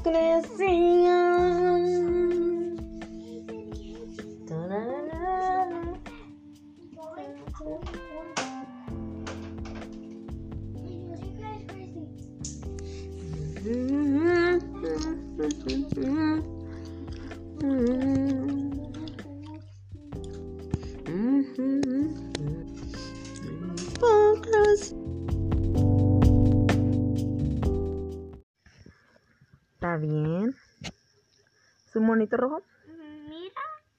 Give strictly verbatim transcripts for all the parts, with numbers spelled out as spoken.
hipocresía. ¿Está bien? ¿Es un monito rojo? Mira.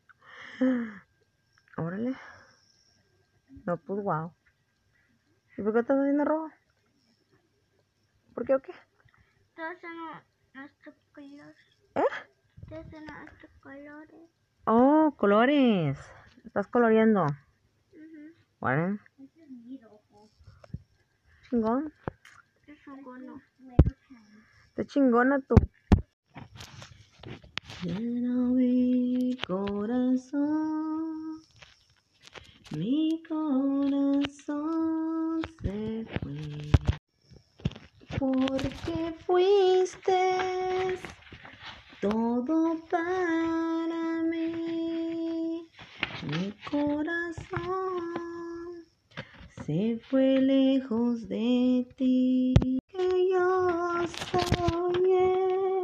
Órale. No, pues wow. ¿Y por qué estás haciendo rojo? ¿Por qué o qué? Todos son nuestros colores. ¿Eh? Todos son nuestros colores. Oh, colores. Estás coloreando. Uh-huh. ¿Vale? Chingón. Es un gono. Está chingona tú. Llena mi corazón, mi corazón se fue, porque fuiste todo para mí. Mi corazón se fue lejos de ti, que yo soñé.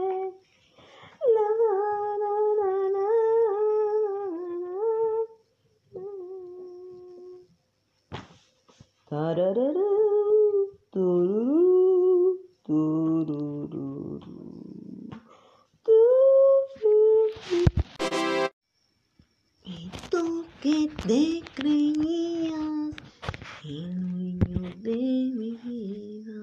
Tararara, tururú, tururú, tururú. Y tú que te creías el dueño de mi vida.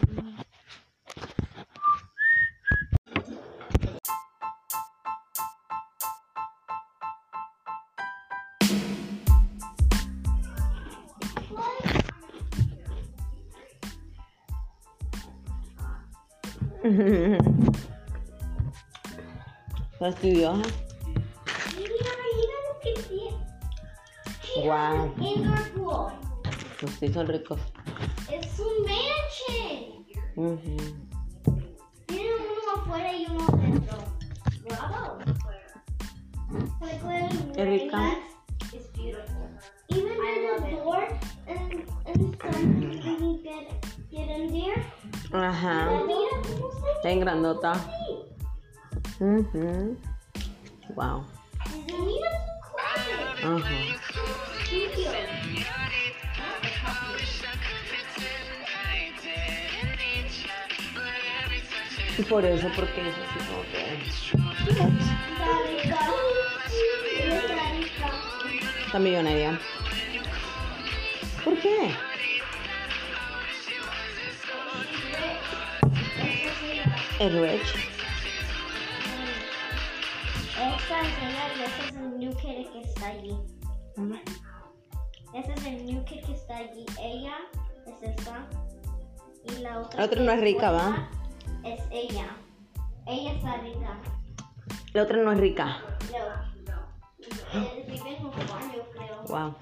Fastidiosa. Mira, mira lo que tiene. Guau. Indoor pool. Pues sí, son ricos. Es un mansion. Uh-huh. Tiene uno afuera y uno adentro. Bravo. Es rica. It's beautiful. Even there's a door and, and something when you get, get in there. Ajá. Mira cómo se Está en grandota. Uh-huh. Wow. Mira su closet. Ajá. Studio. Y por eso, porque es así como que... Está rica. Está rica. Está millonaria. ¿Por qué? Es rich. Esta es ella y ese es el new kid que está allí. Uh-huh. Ese es el new kid que está allí. Ella es esta. Y la otra. La otra que no es rica, buena ¿va? Es ella. Ella está rica. La otra no es rica. No. Eh, Vive en un baño, creo. Wow.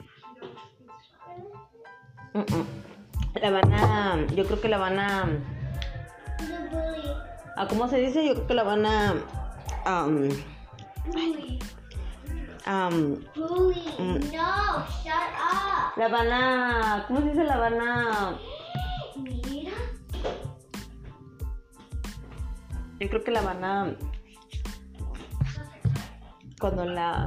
Uh-uh. La van a... Yo creo que la van a... The bully. ¿A cómo se dice? Yo creo que la van a... Um, Bully. um, Bully. Mm. No, shut up. la van a... ¿Cómo se dice? La van a... Mira. Yo creo que la van a... Cuando la...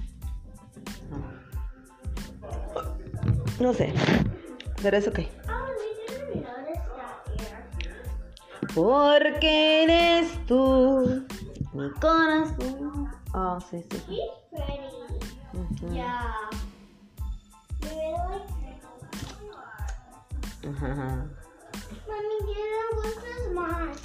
No sé. Pero es ok. Oh, we didn't notice that here. Porque eres tú, mi corazón. Oh, sí, sí. sí. She's pretty. Uh-huh. Yeah. You really like her? Ajá. Mommy, Dad, what's this mask?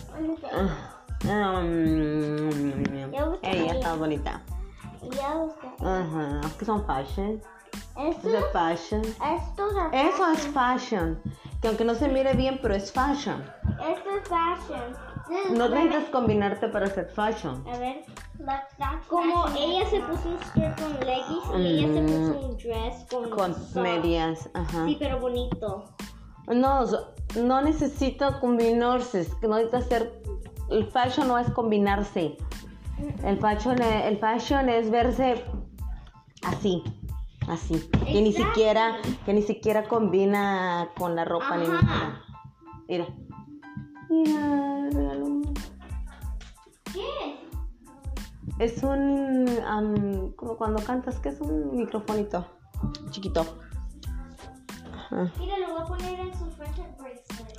Um, Ya busqué. ella está bonita. Ya busqué. Ajá. Es que son fashion. Esto, Es de fashion. estos are Eso fashion. es fashion. Que aunque no se mire bien, pero es fashion. Esto es fashion. This is No women- necesitas combinarte para ser fashion. A ver, como ella se puso un skirt con leggings y ella se puso un dress con, Con socks. medias. Ajá. Sí, pero bonito. No, so- no necesita combinarse. Es que no necesita ser el fashion no es combinarse. El fashion, el fashion es verse así, así. Que ni Exacto. siquiera, que ni siquiera combina con la ropa ni Ajá. nada. Mira. Mira, regalo un- ¿Qué? Es un, um, como cuando cantas, que es un microfonito chiquito. Ajá. Mira, lo voy a poner en su friendship bracelet.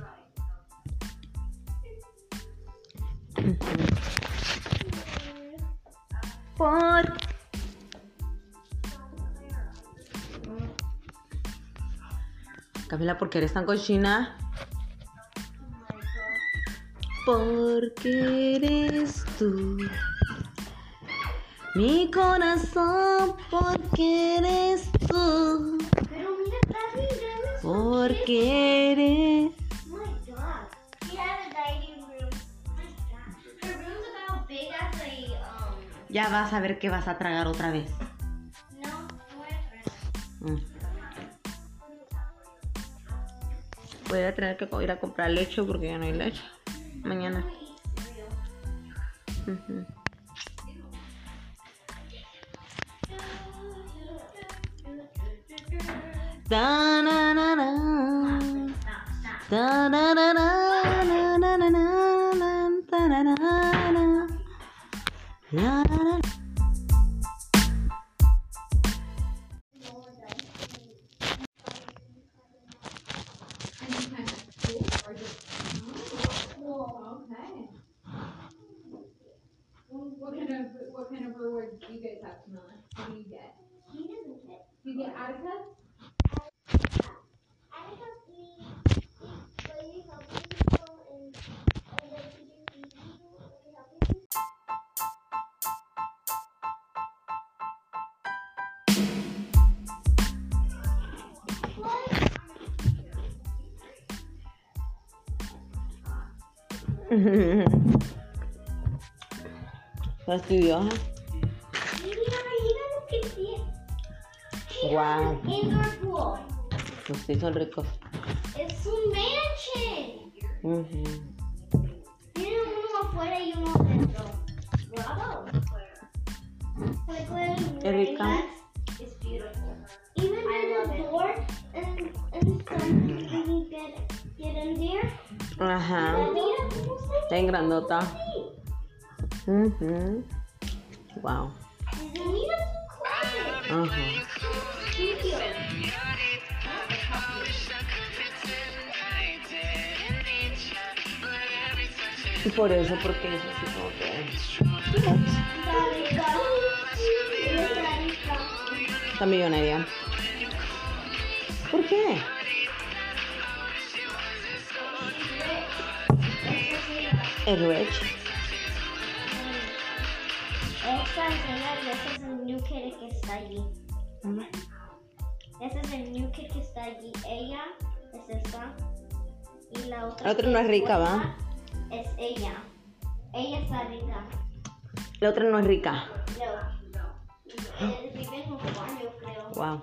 Por... Camila, ¿por qué eres tan cochina? Porque eres tú, mi corazón, porque eres tú, Pero mira, Daddy, that is so cute. porque eres... Oh my god. We have a dining room. Oh my god. Her room's about big as a, um, Ya vas a ver que vas a tragar otra vez. no, no voy a traer. Mm. Voy a tener que ir a comprar leche porque ya no hay leche. Mañana. I eat cereal. Ujú. Da, na, na, na. Stop, stop. Da, na, na, na, na, na, na, na, na, da, na, na, na. La, la, la. Okay. What kind of what kind of rewards do you guys have, Camilla? What do you get? He doesn't get. Do you get Atticus? I have the lady helping people and and the teacher feeding people and helping people. Fastidiosa. Mira, mira lo que tiene. She Wow. has an indoor pool. Pues sí, son ricos. Es un mansion. Ujú. Tiene uno afuera y uno adentro. Bravo. Like when Qué rica. it's beautiful. Even there's a door and and something when you get get in there. Ajá. Mira cómo está. Está en grandota. Sí. Ujú. Wow. Mira su closet. Ajá. Studio. Y por eso, porque es así como que... Está millonaria. ¿Por qué? Es rich. Esta escena, ese es el new kid que está allí. Ese es el new kid que está allí. Ella es esta. Y la otra. La otra que no es rica, buena ¿va? Es ella. Ella está rica. La otra no es rica. No. Él vive en Juan, yo creo. Wow.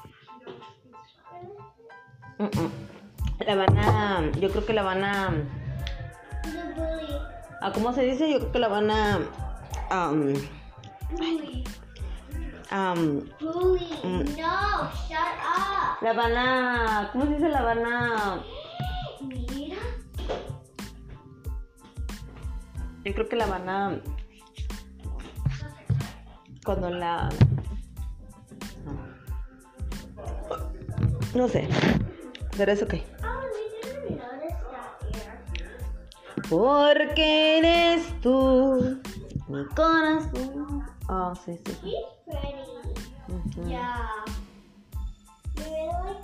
Mm-mm. La van a... Yo creo que la van a... The bully. ¿A cómo se dice? Yo creo que la van a... Um, Bully. um, Bully. Mm. No, shut up. la van a... ¿Cómo se dice? La van a... Mira. Yo creo que la van a... Cuando la... No sé. Pero es ok. Oh, we didn't notice that here. Porque eres tú, mi corazón. Oh, sí, sí. sí. She's pretty. Ujú. Yeah. You really like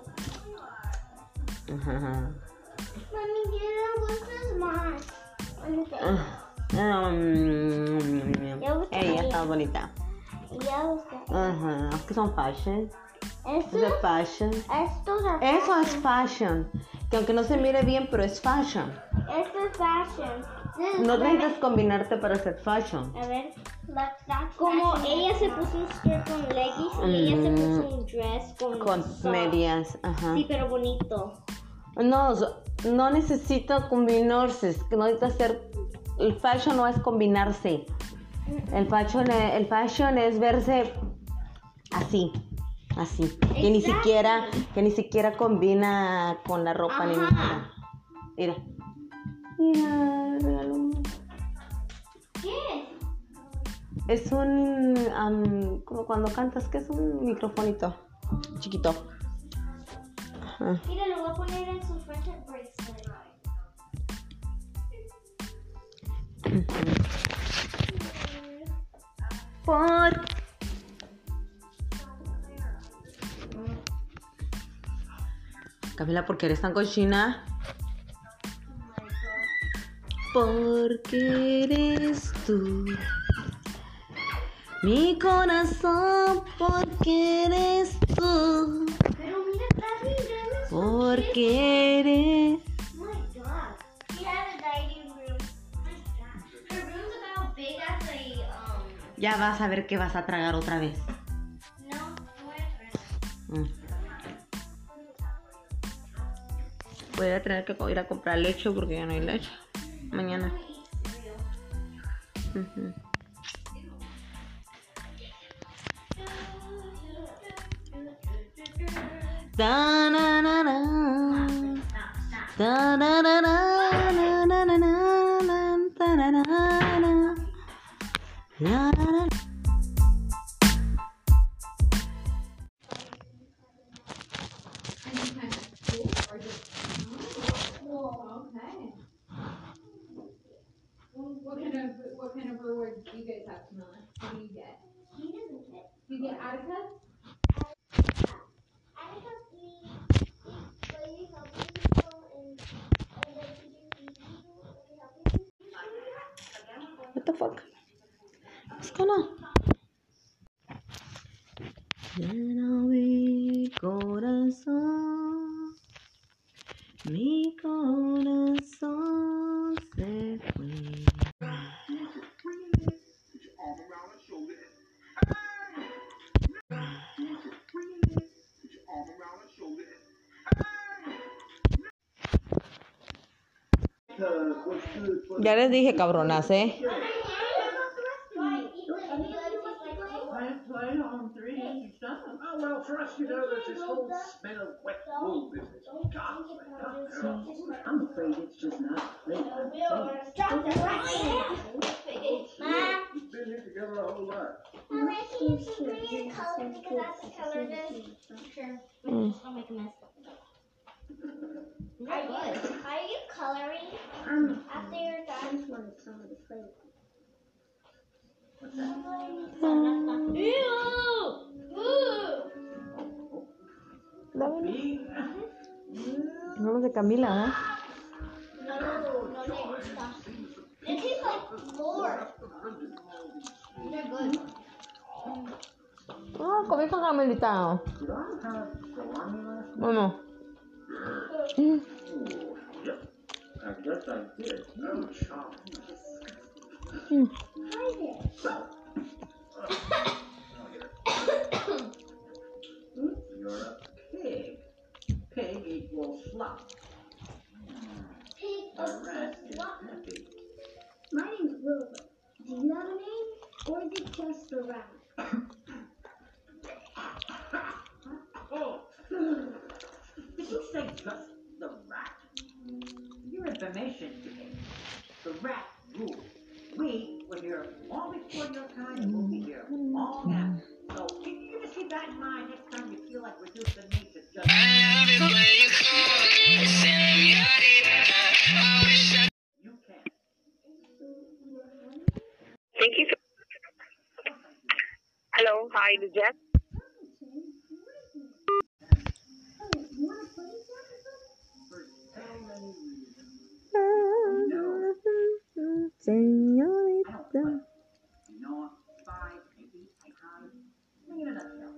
her? Ajá. Mommy, Dad, what's this mask? Let me get it. Um, Ya busqué. ella está bonita. Ya busqué. Ajá. Es que son fashion. Es Esto, de fashion. estos are Eso es fashion. fashion. Que aunque no se mire bien, pero es fashion. Esto es fashion. This is No what- necesitas combinarte para hacer fashion. A ver, como ella se puso un skirt con leggings y ella se puso un dress con, Con socks. medias. Ajá. Sí, pero bonito. No, so- no necesita combinarse. Es que no necesita ser el fashion no es combinarse. El fashion, el fashion es verse así, así. Que ni siquiera, que ni siquiera combina con la ropa ni nada. Mira. Mira, regalo. ¿Qué? Es un, um, como cuando cantas, que es un microfonito chiquito. Ajá. Mira, lo voy a poner en su friendship bracelet. Por Camila, ¿por qué eres tan cochina? Porque eres tú mi corazón, porque eres tú, Pero mira, Daddy, that is so porque eres. Oh my god. She has a dining room. Oh my god. Her room's about big as a, um, Ya vas a ver que vas a tragar otra vez. no, no voy a traer. Mm. Voy a tener que ir a comprar leche porque ya no hay leche. Mañana. Uh-huh. Da na na na. Da na na na na na na na na na na na. La la la. Any kind of school or just oh, okay. Well, what kind of what kind of rewards do you guys have, Camilla? What do you get? He doesn't get. Do you get Atticus? Attica, we when we help people and and then we do feed people and we help people. What the fuck? What's going on? Llena mi corazón, mi corazón se fue. Ya les dije, cabronas, ¿eh? Oh, well, for us, you know, there's this whole smell of wet wool business. God, I'm afraid it's just not clean. We've been here together a whole lot. Can you please color because that's the color it is? Sure. I'll make a mess. Are you, are you coloring um, after you're done? I just wanted some of the flavor. What's that? Ew! Ooh! Vamos de Camila, ¿eh? No, no le gusta. It tastes like floor. They're good. Oh, comí con Camelita. Bueno. Mm. I guess I did. Oh, Charlie. Mm. You're a pig. Pig equals slop. Pig A rat is slop. happy. My name's Wilbur. Do you have a name? Or is it just a rat? Oh, did you say just the rat? Your information today. The rat rules. We were here long before your time, and we'll be here long after. So can you just keep that in mind next time you feel like reducing me to just... You can. Thank you. Hello, hi, this is Jeff. Señorita. No, five, maybe, I can't. In a nutshell.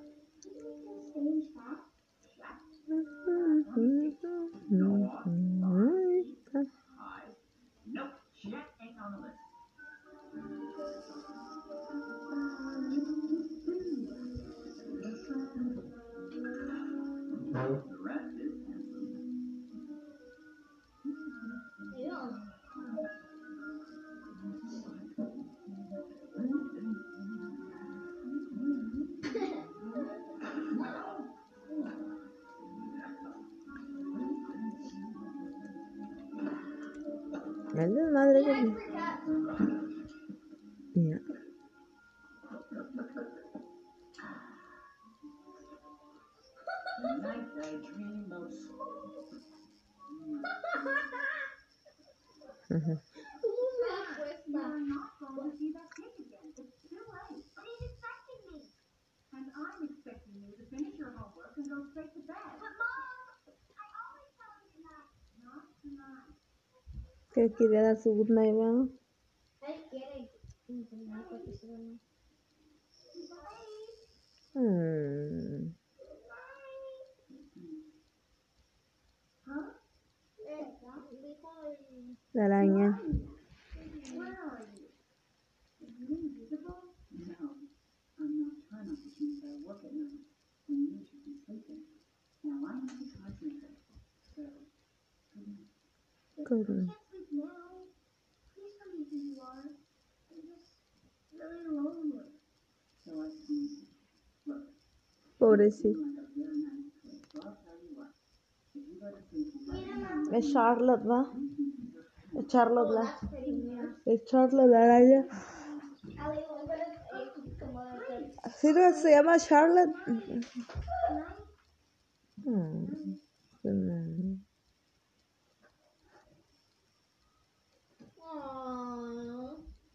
Noah, five, five. Nope, Chet ain't on the list. Es desmadre que... Mira. Tonight I dream of Ujú. You're not going to see that kid again. It's too late. But he's expecting me. And I'm expecting you to finish your homework and go straight to bed. But Mom, I always tell him tonight. Not tonight. Que quería dar su good night, ¿verdad? Él quiere entrenar porque se duerme. Mm. Huh? La araña. Where are you? Are you invisible? No. I'm nocturnal, which means I work at night. And you should be sleeping. Now I'm not a cosmaker. So, good night. Good. I can't sleep now. Please tell me who you are. I'm just really lonely. So I see. Look. Pobrecito. You like a very nice place. So I'll tell you what. If you go to sleep, you let me Es Charlotte, ¿va? Es Charlotte, Oh, la... that's pretty weird. Es Charlotte, la araña. Ali, I'm gonna eh, como de- ¿Sí no se llama Charlotte? Tonight? Mm. Mm. Aww.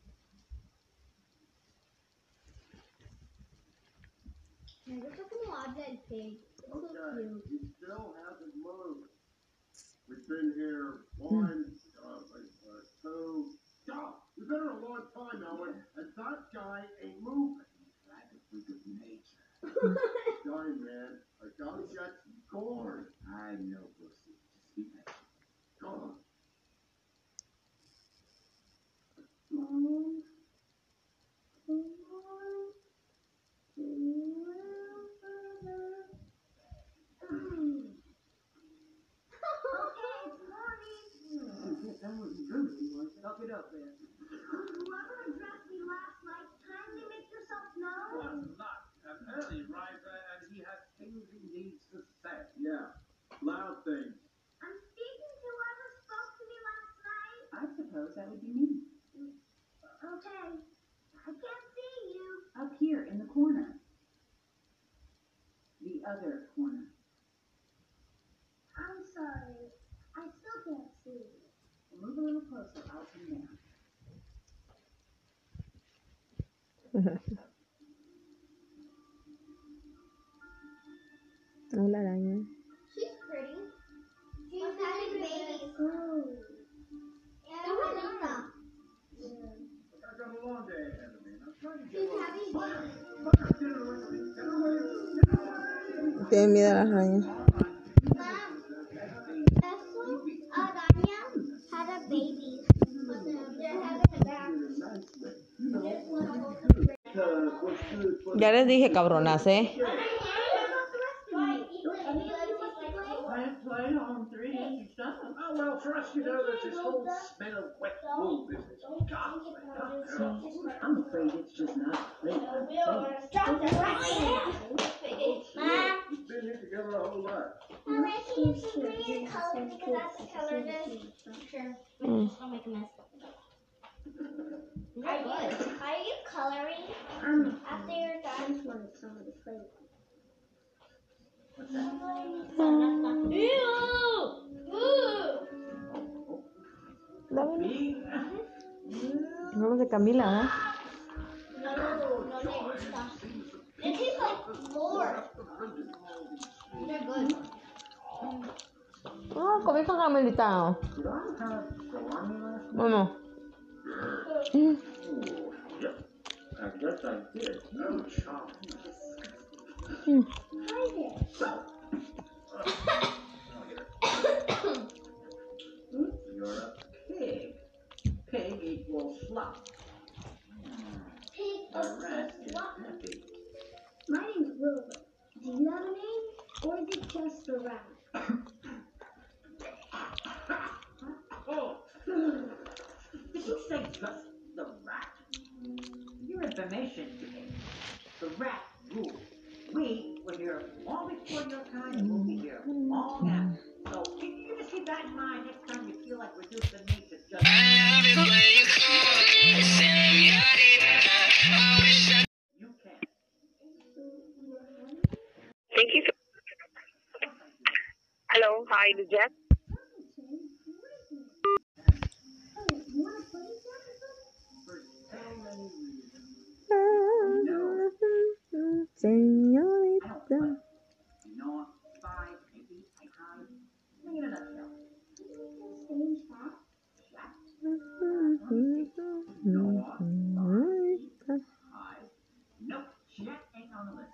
Me gusta como habla el pig. It's so Okay, cute. he still hasn't moved. We've been here one, uh, like, uh, two, stop! We've been here a long time now, and, and that guy ain't moving. Like a freak of nature. Dying, man. I gotta get going. I know, Brooksy. Just be patient. Go on. Mom. That was good. Talk it up, man. Whoever addressed me last night, kindly make yourself known. Was not an early riser, and he has things he needs to say. Yeah, loud things. I'm speaking to whoever spoke to me last night. I suppose that would be me. Okay. I can't see you. Up here in the corner. The other corner. I'm sorry. I still can't see you. Move a little closer. I'll come down. Hola, araña. She's pretty. She's having babies. Oh. Yeah, Juanita. I got a long day ahead of me, and I'm trying to get She's away. having Fire! babies. Fire! Get it away from me! Get it away! Get it away! Tiene miedo a las arañas. Mom, Eso, Araña had a baby. But they're having a baby. There's one over there. Ya les dije, cabronas, ¿eh? I play on three inch stuff. Oh, well, for us, you know, there's this whole smell of wet wool business. God, I'm afraid it's just not playing. we've been here together a whole lot. I'm making you some green color because that's the color it is. Sure. Mm. I'll make a mess. Are you, are you coloring um, after you're done? I just wanted somebody to play with. What's that? Ew! Ooh! Dame. Vamos de Camila, ¿eh? No, no me gusta. It tastes like floor. They're good. Oh, comí con Camilita. Did I have salami last night? Bueno. Oh, yep. I guess I did. No chop. Mm. You're a pig. Pig equals slop. Pig The of rest is what? happy. My name's Wilbur. Do you have a name? Or is it just the rat? Oh! Did you say just the rat? Your information today. The rat rules. We were here long before your time, and we'll be here long after. So you, you just keep that in mind next time you feel like reducing me to just Hello, hi, this is Jess. Señorita. Not five, maybe, I hide. In a nutshell. Hide. Nope, Jet ain't on the list.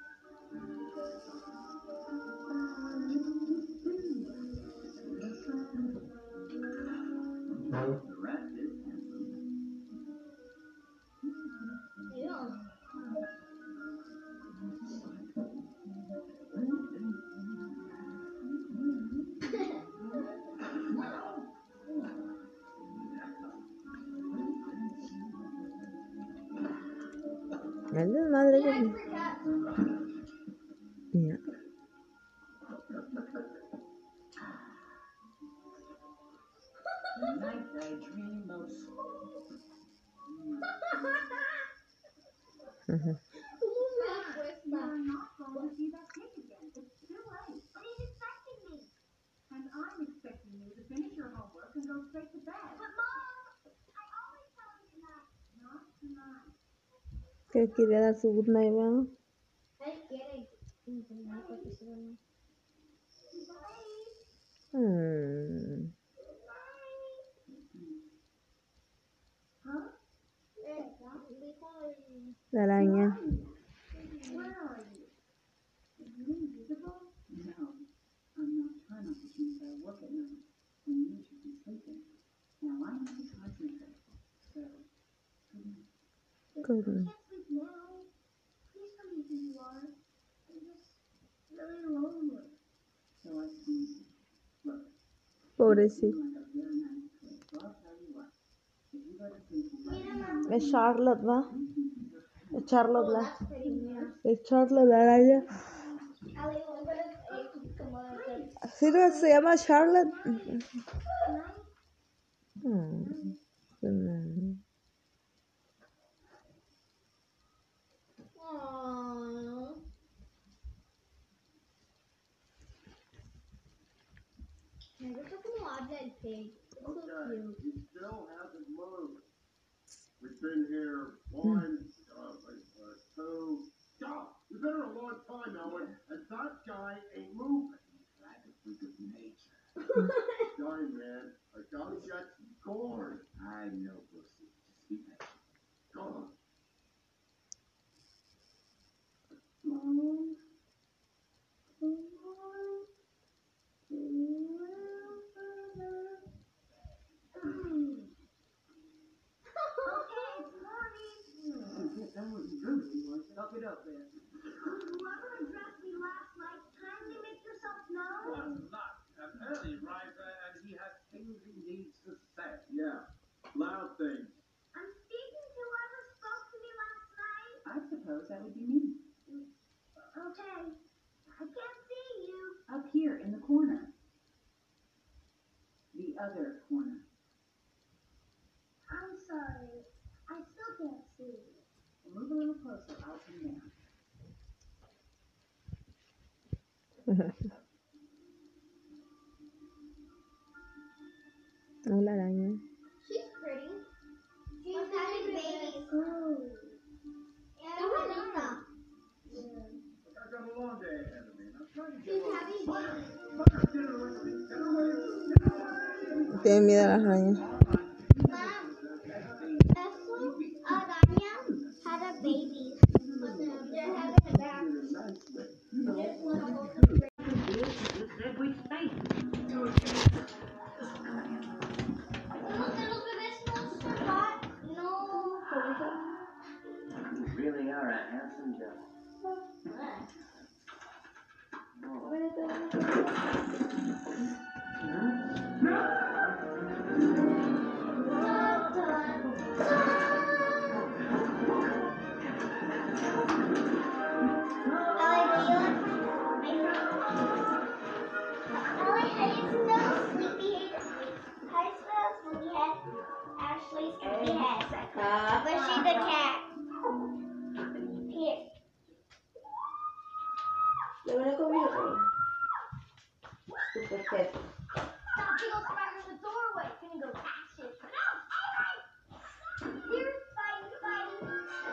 The rest is handsome. Es la madre que... Ya. Tonight I dream of You're not going to see that cake again. It's too late. But he's expecting me. And I'm expecting you to finish your homework and go straight to bed. But Mom, I always tell him tonight. Not tonight. Que quería dar su good night, ¿verdad? Él quiere intentar porque se duerme. Hmm. Huh? La araña. Where are you? Are you invisible? No, I'm nocturnal, which means I work at night when you should be sleeping. Now I need to concentrate. So, good night. Good I night. can't sleep now. Please tell me who you are. I'm just really lonely. So I see. Look, Pobrecito. you like a very nice place. So I'll tell you what. If you go to sleep, you Mira, Mom. Es Charlotte, ¿va? Es Charlotte, Oh, la... that's pretty. Mira. Es Charlotte, la araña. Ali, I'm gonna eh, como de- ¿Sí no se llama Charlotte? Night. Hmm. Hmm. Aww. Me gusta como habla el pig. It's so Okay, cute. he still hasn't moved. We've been here one, uh, uh, two, stop! We've been here a long time now, and, and that guy ain't moving. Like a freak of nature. Sorry, man. I gotta get going. I know, Brooksy. Just be patient. Go on. Mom. Someone's really wants to help it up there. Whoever addressed me last night, kindly make yourself known. Was not an early riser, and he has things he needs to say. Yeah, loud things. I'm speaking to whoever spoke to me last night. I suppose that would be me. Okay. I can't see you. Up here in the corner. The other corner. I'm sorry. I still can't see you. Move a little closer. I'll come down. Hola, araña. She's pretty. She's having babies. Oh. Yeah, Juanita. I got a long day ahead of me, and I'm trying to get She's a having babies. Fire, get her away from me. Get her away. Get her away. Tiene miedo a las arañas. Mom, Eso, Araña had a baby. But they're having a bath. There's one of those. Every space. No, little bebés no se hot. No. You really are a handsome Joe. Ashley's sleepy head. But she's a cat. Here. Good kid. That big old spider in the doorway. It's gonna go catch it. No, alright. Here, Spidey, Spidey.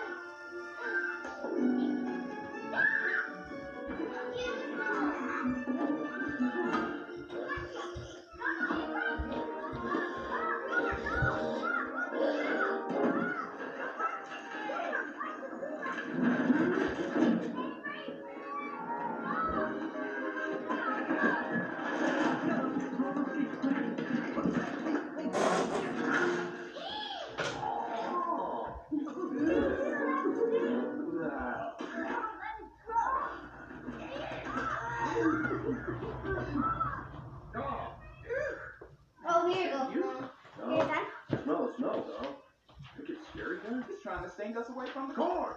Oh, here you go. Here's that. Smell the smell, though. Think it's scary, guy? He's trying to stink us away from the Corn!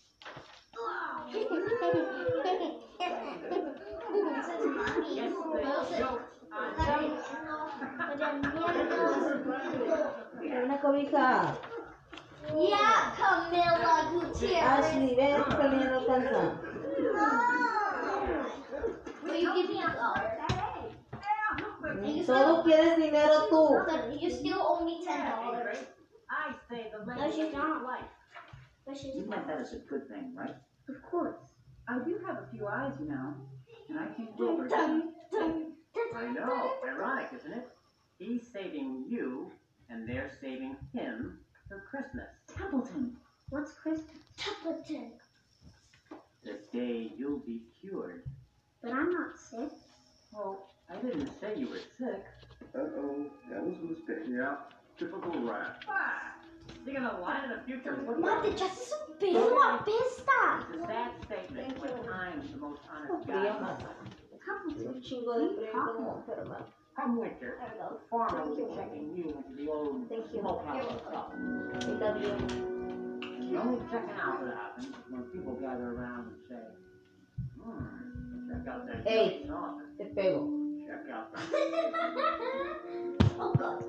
Una cobija. Yeah, Camila Gutierrez. Ashley, ven poniendo cansa. Will you give me a dollar? You Solo still, quieres dinero tú. you still owe me ten dollars. I say the No, lady she's is not. life. But she's You meant that as a good thing, right? of course. I do have a few eyes, you know, and I think Dun, Wilbur. dun, dun, I know. Ironic, isn't it? He's saving you, and they're saving him for Christmas. Templeton. What's Christmas? Templeton. The day you'll be cured. But I'm not sick. Well, I didn't say you were sick. Uh-oh, that was a mistake. Yeah, typical rat. Ah, you're gonna lie to the future football. Mate, ya se subió la pesta. It's a sad statement when I'm the most honest Fría guy. más. Un chingo de frío como enferma. Come winter, the farmer will be checking you into the old Thank you. smokehouse stuff. Está bien. The only checking out that happens is when people gather around and say, hmm, check out that Hey. sauce. Te pego. Check out that. Oh God.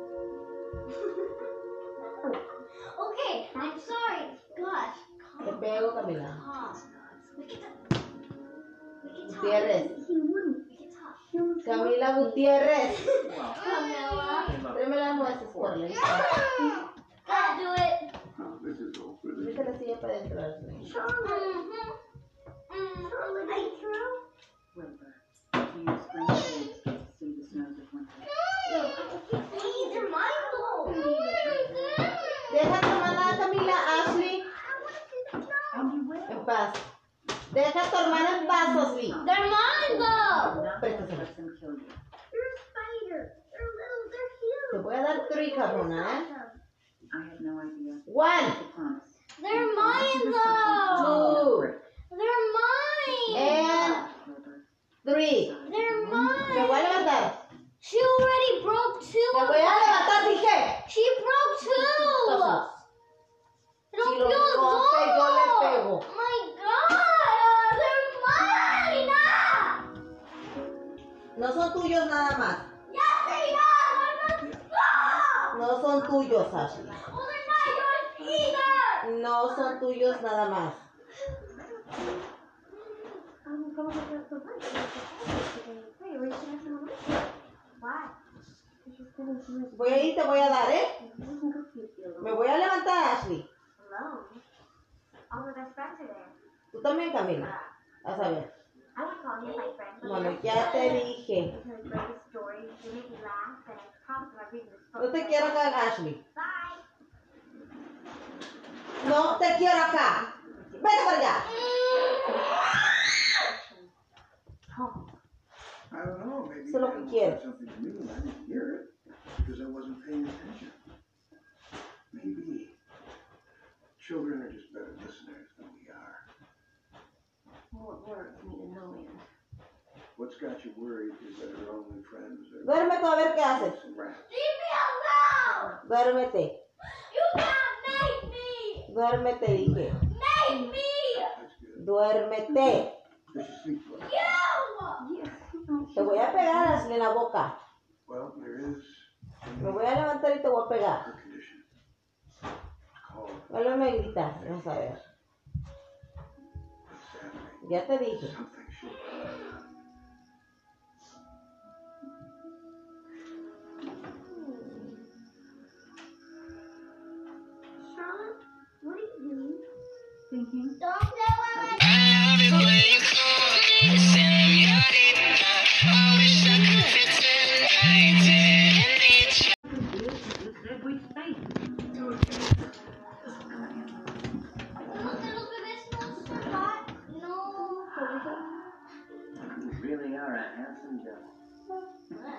Okay, I'm sorry. Gosh. Te pego, Camila. Calm. We can talk. We can talk. Gutiérrez. He wouldn't. We can talk. Camila Gutiérrez. Well, Camilla. hey, look, Tráeme las nueces, por la Gotta do it. Oh, this is awkward. Mete la silla para adentro, Ashley. Mm-hmm. Mm-hmm. I threw. Wilbur. Do you spring kids get to see the snows of winter? Please, they're mine though. Deja tu hermana Camila, Ashley, And you will. en paz. Deja a tu hermana en paz, Ashley. They're mine though. Not Préstasela. let them kill you. They're spiders. They're little. They're huge. Te voy a dar three, cabrona, eh? I have no idea. One, I promise. They're mine though. two, They're mine. and Wilbur. three. They're Me voy mine. a levantar. She already broke two. Me of voy a them. levantar, dije. She broke two. Pasos. Rompió Si lo rompe, yo le dos. pego. My God, they're mine. Ah. No son tuyos nada más. Yes, they are. They're not. No son tuyos, Ashley. Well, they're not yours either. No son tuyos nada más. Voy a ir, te voy a dar, ¿eh? Me voy a levantar, Ashley. Tú también, Camila. A saber. Bueno, ya te dije. No te quiero acá, Ashley. No te quiero acá. Vete para allá. I don't know, maybe Eso es lo que animals quiero. said something to me and I didn't hear it because I wasn't paying attention. Maybe children are just better listeners than we are. What's got you worried is that her only friends are Duérmete a ver qué haces. some rats. Leave me alone. Duérmete. You can't make me. Duérmete, dije. Make me. That's good. Duérmete. Does she sleep well? You. Te voy a pegar, Ashley, en la boca. Well, there is Me voy a levantar y te voy a pegar. her condition. Call Vuélveme a gritar. Vamos a ver. Saturday. Ya te dije. Something should. thinking? Don't say what I Every space. You really are a handsome devil.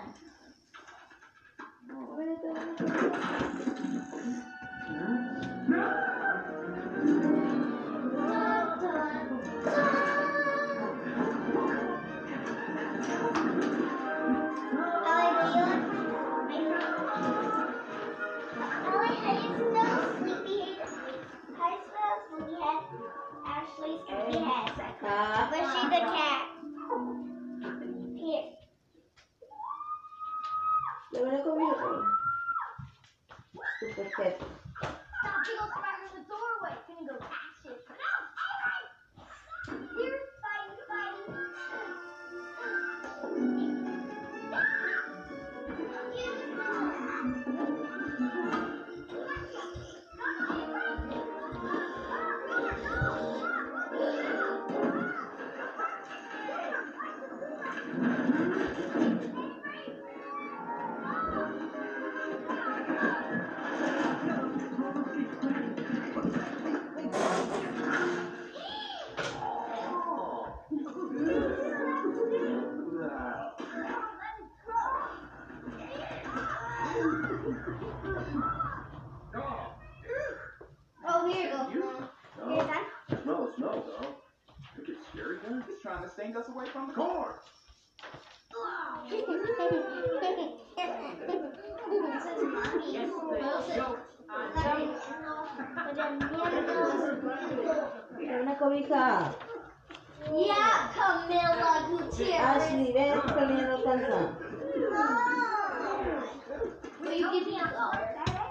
Ashley's sleepyhead. Ah, But she's a cat. Here. le voy a comer. Super pet. Stop, he goes right in the doorway. It's gonna go catch it. No, alright. Here, fighting, fighting. Oh, here you go. Here's that. Smell the smell, though. Think it's scary, guy? He's trying to stink us away from the Corn! This is mommy. Dame una cobija. Yeah, Camila Gutierrez. Ashley, ven, estoy poniendo cansa. Will you give me a dollar?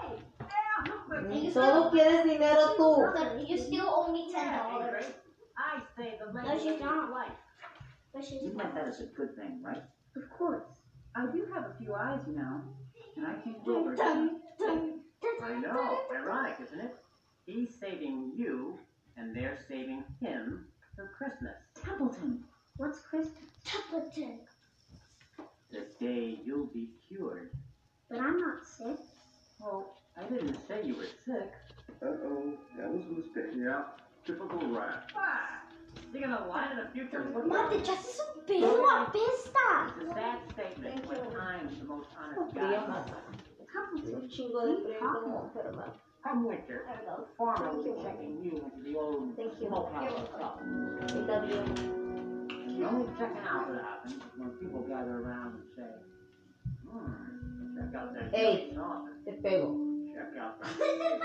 Solo quieres dinero tú. You still owe me ten dollars. I say the No, she don't. life. But she's You meant that as a good thing, right? of course. I do have a few eyes, you know. And I think Wilbur. Dun, dun, dun, I know. Ironic, isn't it? He's saving you, and they're saving him for Christmas. Templeton. What's Chris? Templeton. The day you'll be cured. But I'm not sick. Well, I didn't say you were sick. Uh-oh, that was a mistake. Yeah, typical rat. Ah, you're gonna lie to the future Mate, ya se superó la pesta. It's a sad statement when time's the most honest Fría guy. más. Un chingo de frío como enferma. Come winter, the farmer will be checking you into the old Thank you. smokehouse stuff. Está bien. The only checking out that happens is when people gather around and say, hmm, check out that Hey. sauce. Te pego. Check out that.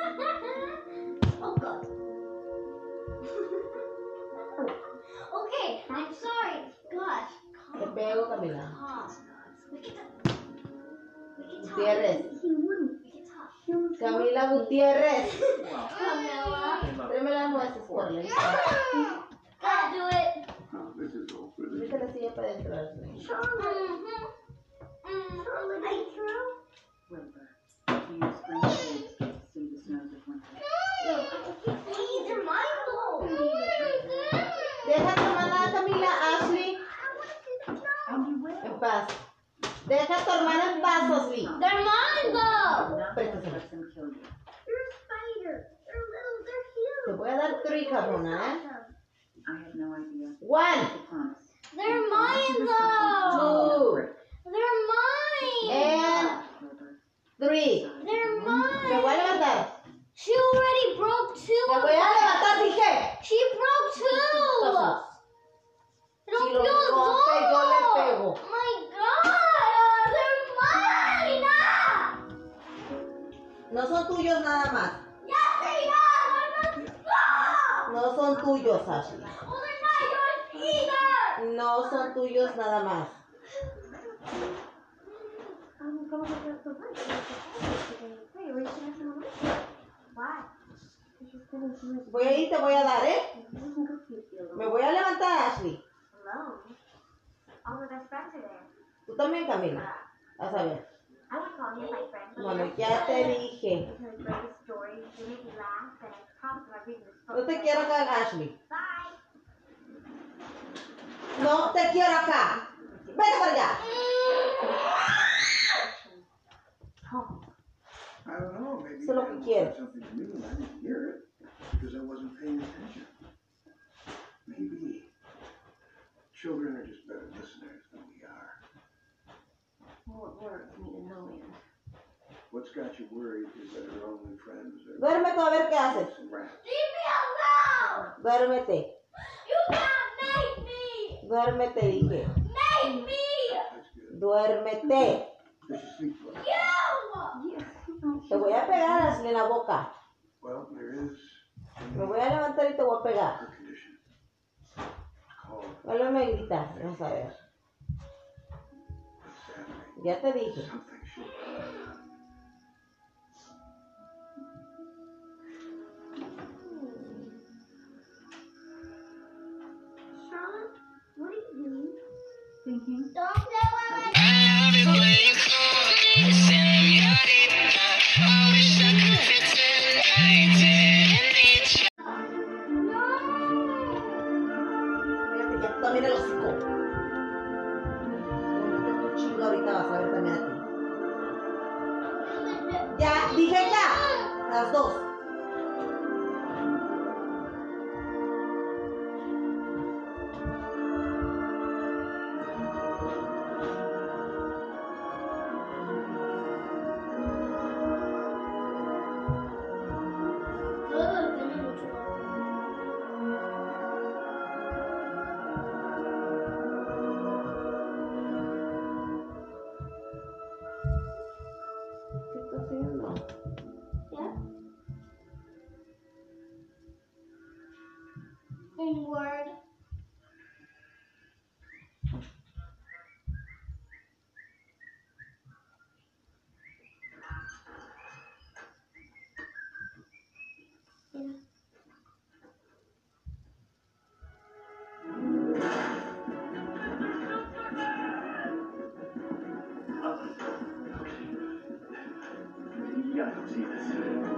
Oh God. Okay, I'm sorry. Gosh. Te pego, Camila. Calm. We can talk. We can talk. Gutiérrez. He wouldn't. We can talk. He was Camila Gutiérrez. Well, Camilla. hey, look, Tráeme las nueces, por la Gotta do it. Oh, this is awkward. Mete la silla para adentro, Ashley. Mm-hmm. Mm. I threw. Wilbur, do you spring shades get to see the snows of winter? Please, they're mine though. Deja tu hermana Camila, Ashley, And you will. en paz. Deja a tu hermana en paz, Ashley. They're mine though. Not Préstasela. let them kill you. They're spiders. They're little. They're huge. Te voy a dar three, cabrona, eh? I had no idea. One, I promise. They're mine though. two, They're mine. and Wilbur, three. They're Me voy a mine. levantar. She already broke two. Me of voy a them. levantar, dije. She broke two. Entonces, Don't si lo feel rompe, yo le pego. Oh my God. They're mine. Ah. No son tuyos nada más. Yes, they are. They're not. No son tuyos, Ashley. Well, they're not yours either. No son tuyos nada más. I'm going to the work. Wait, are you going to work? Why? Voy a ir, te voy a dar, ¿eh? Me voy a levantar, Ashley. Alone. All my best friends are there. Tú también, Camila. A saber. I would call you my friend. Bueno, ya te dije. Because I read the stories, you make me laugh, and I promise if I read the No te quiero acá, Ashley. Bye. No te quiero acá. Vete para allá. I don't know, maybe Eso es lo que quieres. something to me and I didn't hear it because I wasn't paying attention. Maybe children are just better listeners than we are. Well, it works me to no end. What's got you worried is that her only friends are Duérmete a ver qué haces. some rats. Leave me alone! Duérmete. You can't make me! Duérmete, dije. Make me! That's good. Duérmete. Does she sleep well? You! Te voy a pegar, Ashley, en la boca. Well, there is Me voy a levantar y te voy a pegar. her condition. Called Vuélveme a gritar. Vamos a ver. insanity. Ya te dije. Something should. Charlotte, what are you doing? Thinking. Don't say what I Fíjate, ya también el hocico. Cómete tu chingo ahorita, vas a ver también a ti. Ya, dije ya. Las dos. ¿Qué estás haciendo? Yeah. In Word. Yeah. You gotta go see this.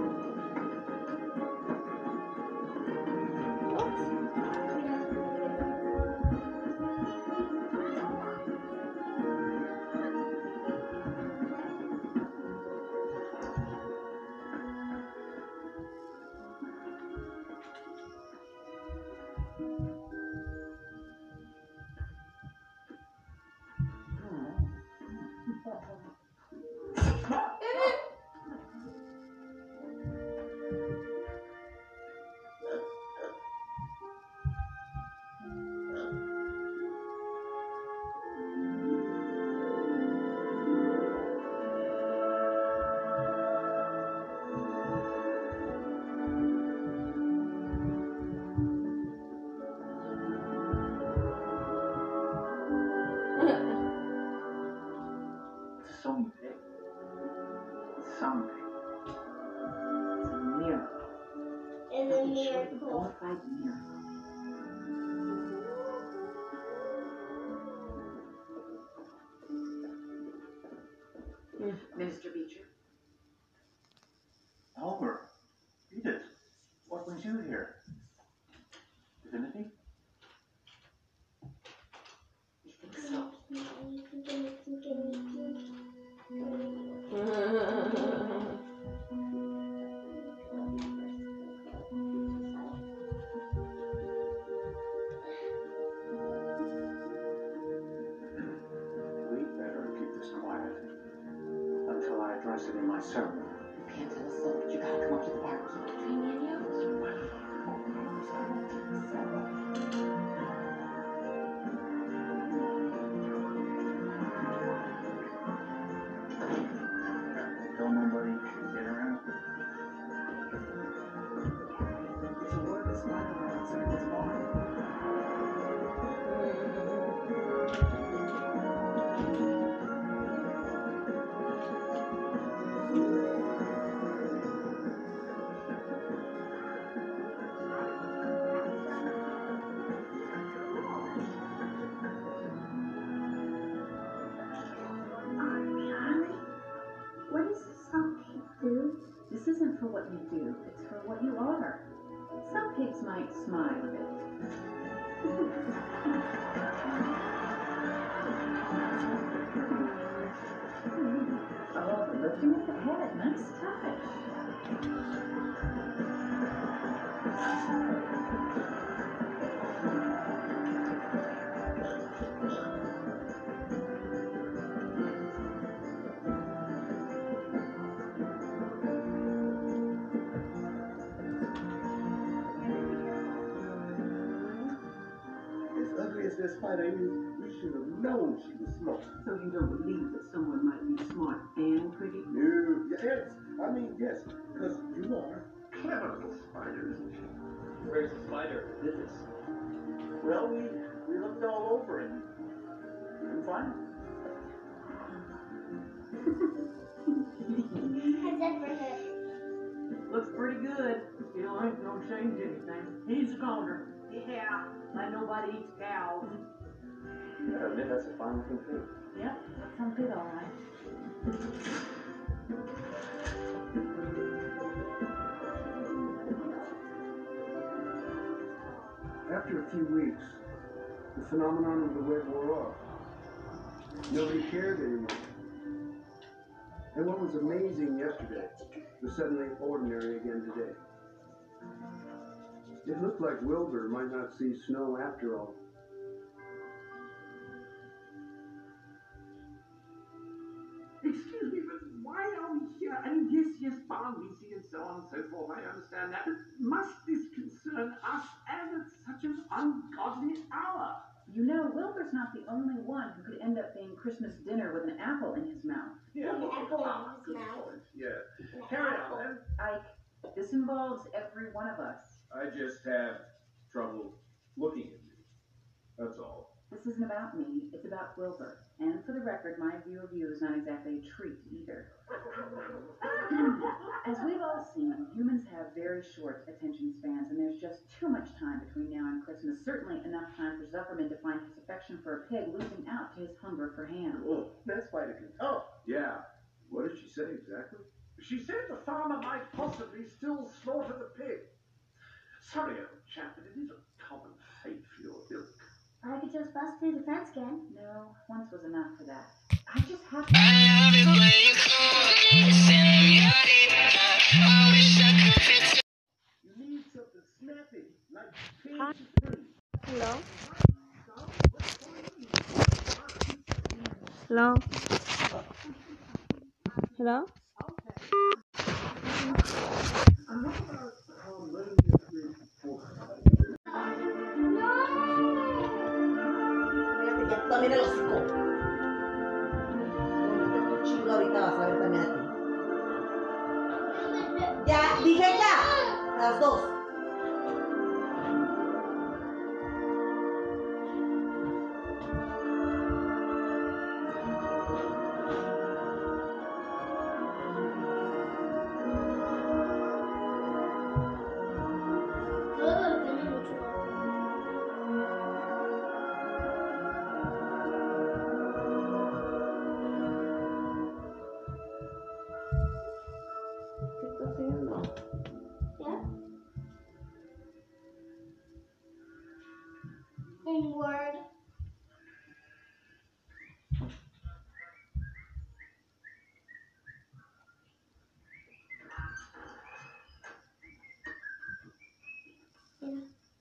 Someday, someday, it's a miracle. It's a miracle. Qualified miracle. Mister Beecher? Oliver, Edith, what brings you here? Divinity? You think so? We better keep this quiet until I address it in my sermon. You can't tell us so, but you gotta come up to the barbecue between me and you. Tell nobody get around. There's a word that's flying around outside this bar. might smile a bit. Oh, lifting up the head. Nice touch. As ugly as this spider is, we should have known she was smart. So you don't believe that someone might be smart and pretty? No, yes. I mean, yes, because you are clever little spider, isn't she? Where's the spider? This. Well, we, we looked all over it. Couldn't find it. How's that for her? Looks pretty good. Still ain't gonna change anything. He's a goner. Yeah, like nobody eats cows. I admit that's a fine looking pig. Yep, that sounds good, all right. After a few weeks, the phenomenon of the web wore off. Nobody cared anymore. And what was amazing yesterday was suddenly ordinary again today. It looked like Wilbur might not see snow after all. Excuse me, but why are we here? And yes, yes, farm meeting and so on and so forth, I understand that. But must this concern us and at such an ungodly hour? You know, Wilbur's not the only one who could end up being Christmas dinner with an apple in his mouth. Yeah. An apple in his mouth. Yeah. An Carry apple. on then. Ike, this involves every one of us. I just have trouble looking at you. That's all. This isn't about me, it's about Wilbur. And for the record, my view of you is not exactly a treat either. As we've all seen, humans have very short attention spans, and there's just too much time between now and Christmas. Certainly enough time for Zuckerman to find his affection for a pig losing out to his hunger for ham. Oh, that's why it can. Oh, yeah. What did she say exactly? She said the farmer might possibly still slaughter the pig. Sorry, old chap, but it is a common fate for your ilk. I could just bust through the fence again. No, once was enough for that. I just have to... I love it when you call me señorita. I wish I could fit. You need something snappy, like page three. Hello? Hello? Hello? Ya también el hocico. Tu chingo ahorita vas a ver también a ti. Ya, dije ya. Las dos. In Word. Yeah.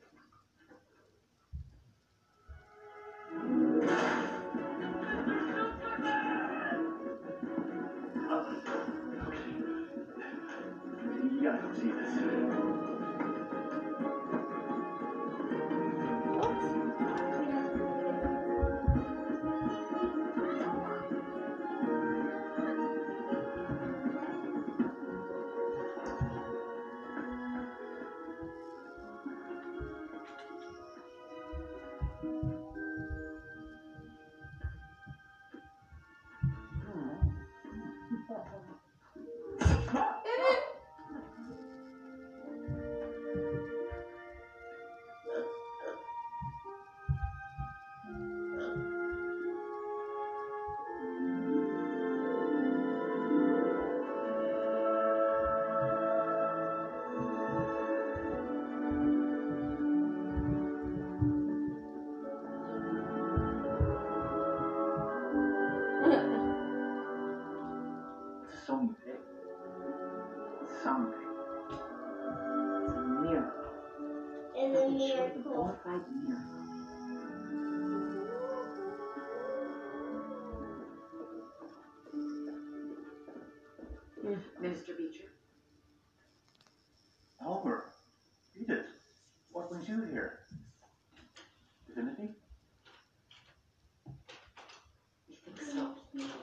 You gotta see this. some pig. Some pig. It's a miracle. It's a Nothing short of a miracle. bona fide miracle. Minister Beecher. Oliver, Edith, what brings you here? Divinity? You think so?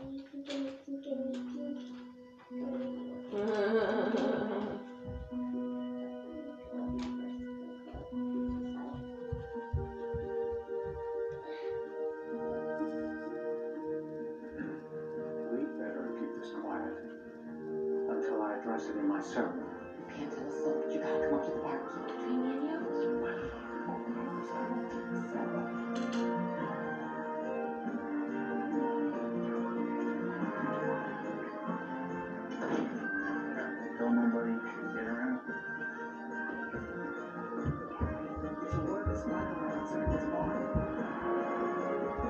We better keep this quiet until I address it in my sermon. You can't tell us so, but you gotta come up to the barbecue between me and you. Don't nobody get around. If you were this one, I would consider this barn.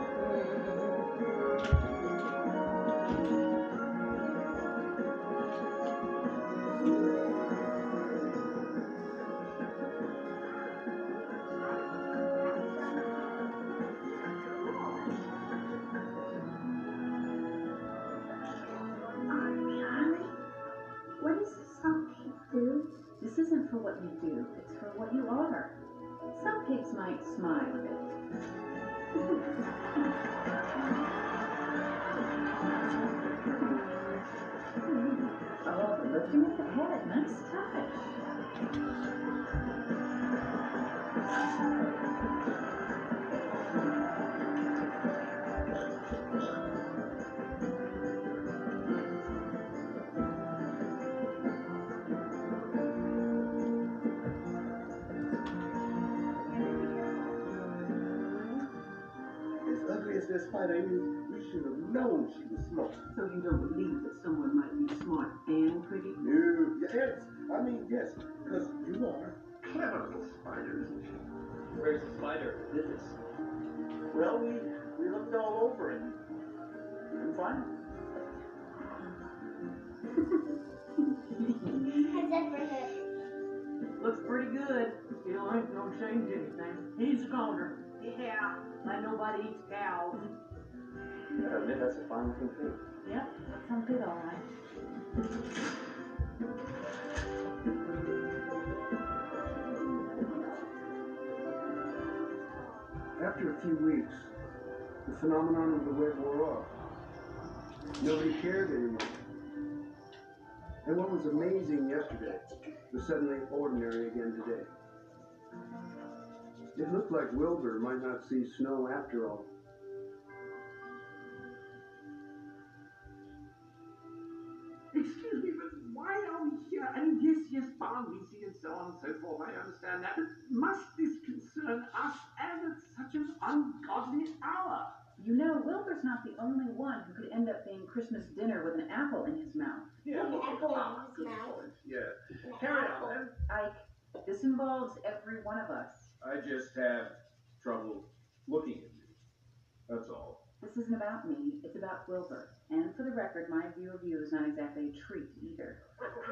Charlie, what does some pig do? This isn't for what you do, it's for what you are. Some pigs might smile a bit. Oh, but lifting up the head, nice touch. As ugly as that spider is, we should have known she was smart. So you don't believe that someone might be smart and pretty? No, yes, I mean yes, because you are clever little spider, isn't she? Where's the spider? Is this? Well, we we looked all over and we couldn't find her. How's that for her? Looks pretty good. Still ain't gonna change anything. He's a goner. Yeah, like nobody eats cows. I admit that's a fine looking thing. Yep, that sounds good, all right. After a few weeks, the phenomenon of the web wore off. Nobody cared anymore. And what was amazing yesterday was suddenly ordinary again today. It looked like Wilbur might not see snow after all. Excuse me, but why are we here? And yes, yes, bound, we see, and so on and so forth. I understand that. But must this concern us and at such an ungodly hour? You know, Wilbur's not the only one who could end up being Christmas dinner with an apple in his mouth. Yeah, An well, apple in ah, his good mouth. point. Yeah. An Carry apple. on then. Ike, this involves every one of us. I just have trouble looking at you. That's all. This isn't about me, it's about Wilbur. And for the record, my view of you is not exactly a treat either.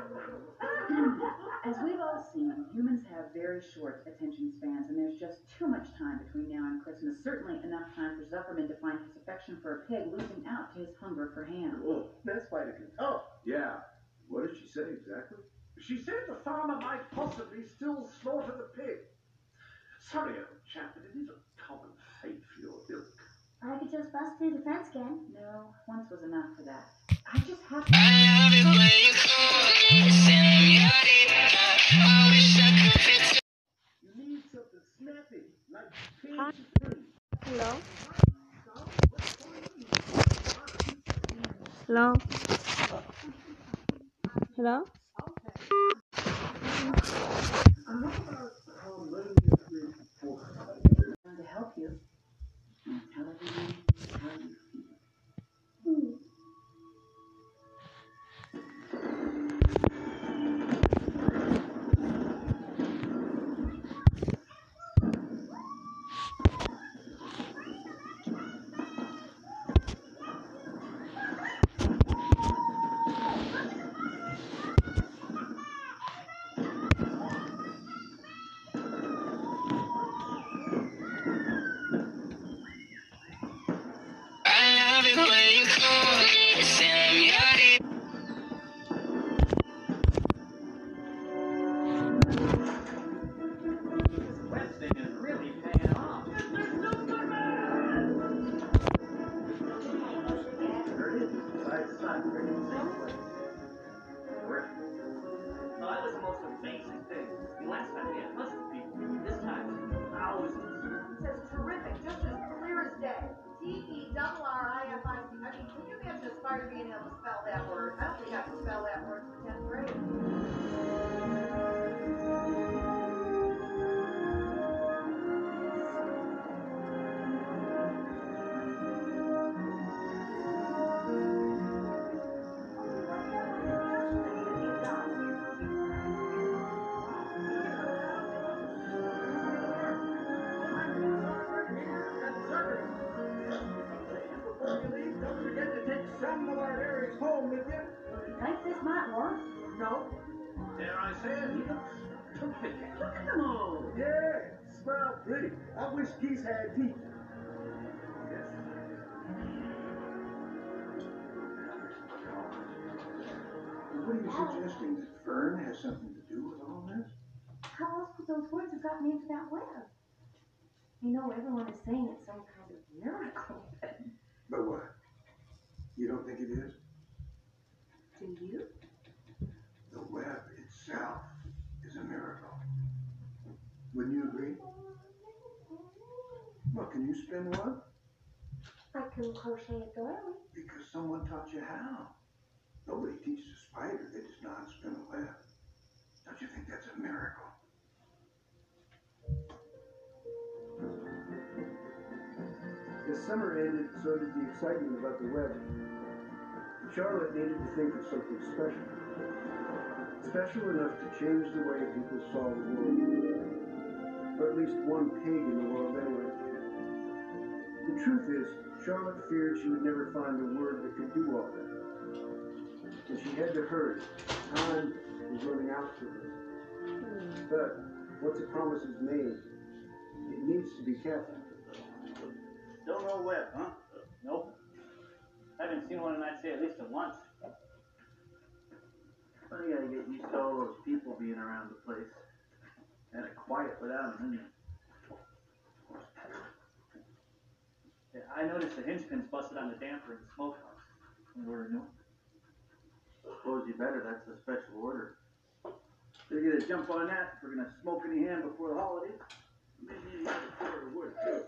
As we've all seen, humans have very short attention spans, and there's just too much time between now and Christmas. Certainly enough time for Zuckerman to find his affection for a pig losing out to his hunger for ham. Oh, that's why it can talk. Yeah. What did she say exactly? She said the farmer might possibly still slaughter the pig. Sorry, old chap, but it is a common fate for your ilk. I could just bust through the fence again. No, once was enough for that. I just have to... I love it when you call me señorita. I wish I could fit. You need something snappy, like page three. Hello? Hello? Hello? I'm to help you. And tell everyone how you feel. Hmm. not a friggin' safe place. Terrific. No, that was the most amazing thing. The last time we had hundreds of people. This time, thousands. It says terrific, just as clear as day. T E double R I F I C. I mean, can you imagine a spider being able to spell that word? I don't think I can spell that word for tenth grade. Think this might work? No. Dare I say it, he looks terrific. Look at them all. Yeah, smile pretty. I wish geese had teeth. What are you suggesting? That Fern has something to do with all this? How else could those words have gotten into that web? You know, everyone is saying it's some kind of miracle. But what? You don't think it is? Do you? The web itself is a miracle. Wouldn't you agree? Well, can you spin one? I can crochet a doily. Because someone taught you how. Nobody teaches a spider that does not spin a web. Don't you think that's a miracle? The summer ended, so did the excitement about the web. Charlotte needed to think of something special. Special enough to change the way people saw the world. Or at least one pig in the world anyway. The truth is, Charlotte feared she would never find a word that could do all that. And she had to hurry. Time was running out for her. But once a promise is made, it needs to be kept. Still no web, huh? Nope. Haven't seen one, and I'd say at least at once. Well, you gotta get used to all those people being around the place. Kind of quiet without them, isn't it? Yeah, I noticed the hinge pins busted on the damper in the smokehouse. Can you order new? Suppose you better. That's a special order. They're gonna jump on that if we're gonna smoke any ham before the holidays. Maybe another quarter of wood, too.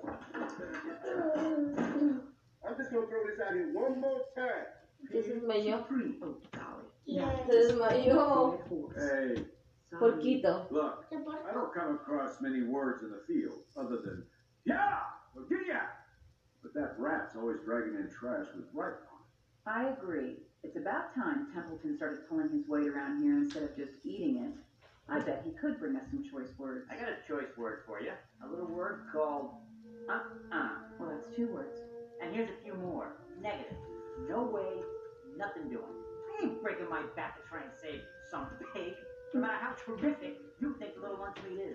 I'm just gonna throw this out here one more time. ¿Qué se desmayó? Oh, golly. Se desmayó. Hey, Porquito. look, I don't come across many words in the field other than, yeah, Virginia. But that rat's always dragging in trash with right on it. I agree. It's about time Templeton started pulling his weight around here instead of just eating it. I bet he could bring us some choice words. I got a choice word for you. A little word called uh-uh. Well, that's two words. And here's a few more. Negative. No way, nothing doing. I ain't breaking my back to try and save some pig. No matter how terrific you think the little lunchmeat is.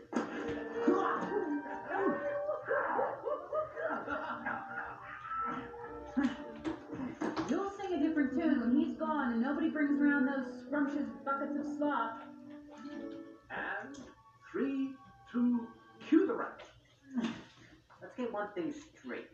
You'll sing a different tune when he's gone and nobody brings around those scrumptious buckets of slop. And three, two, cue the rat. Let's get one thing straight.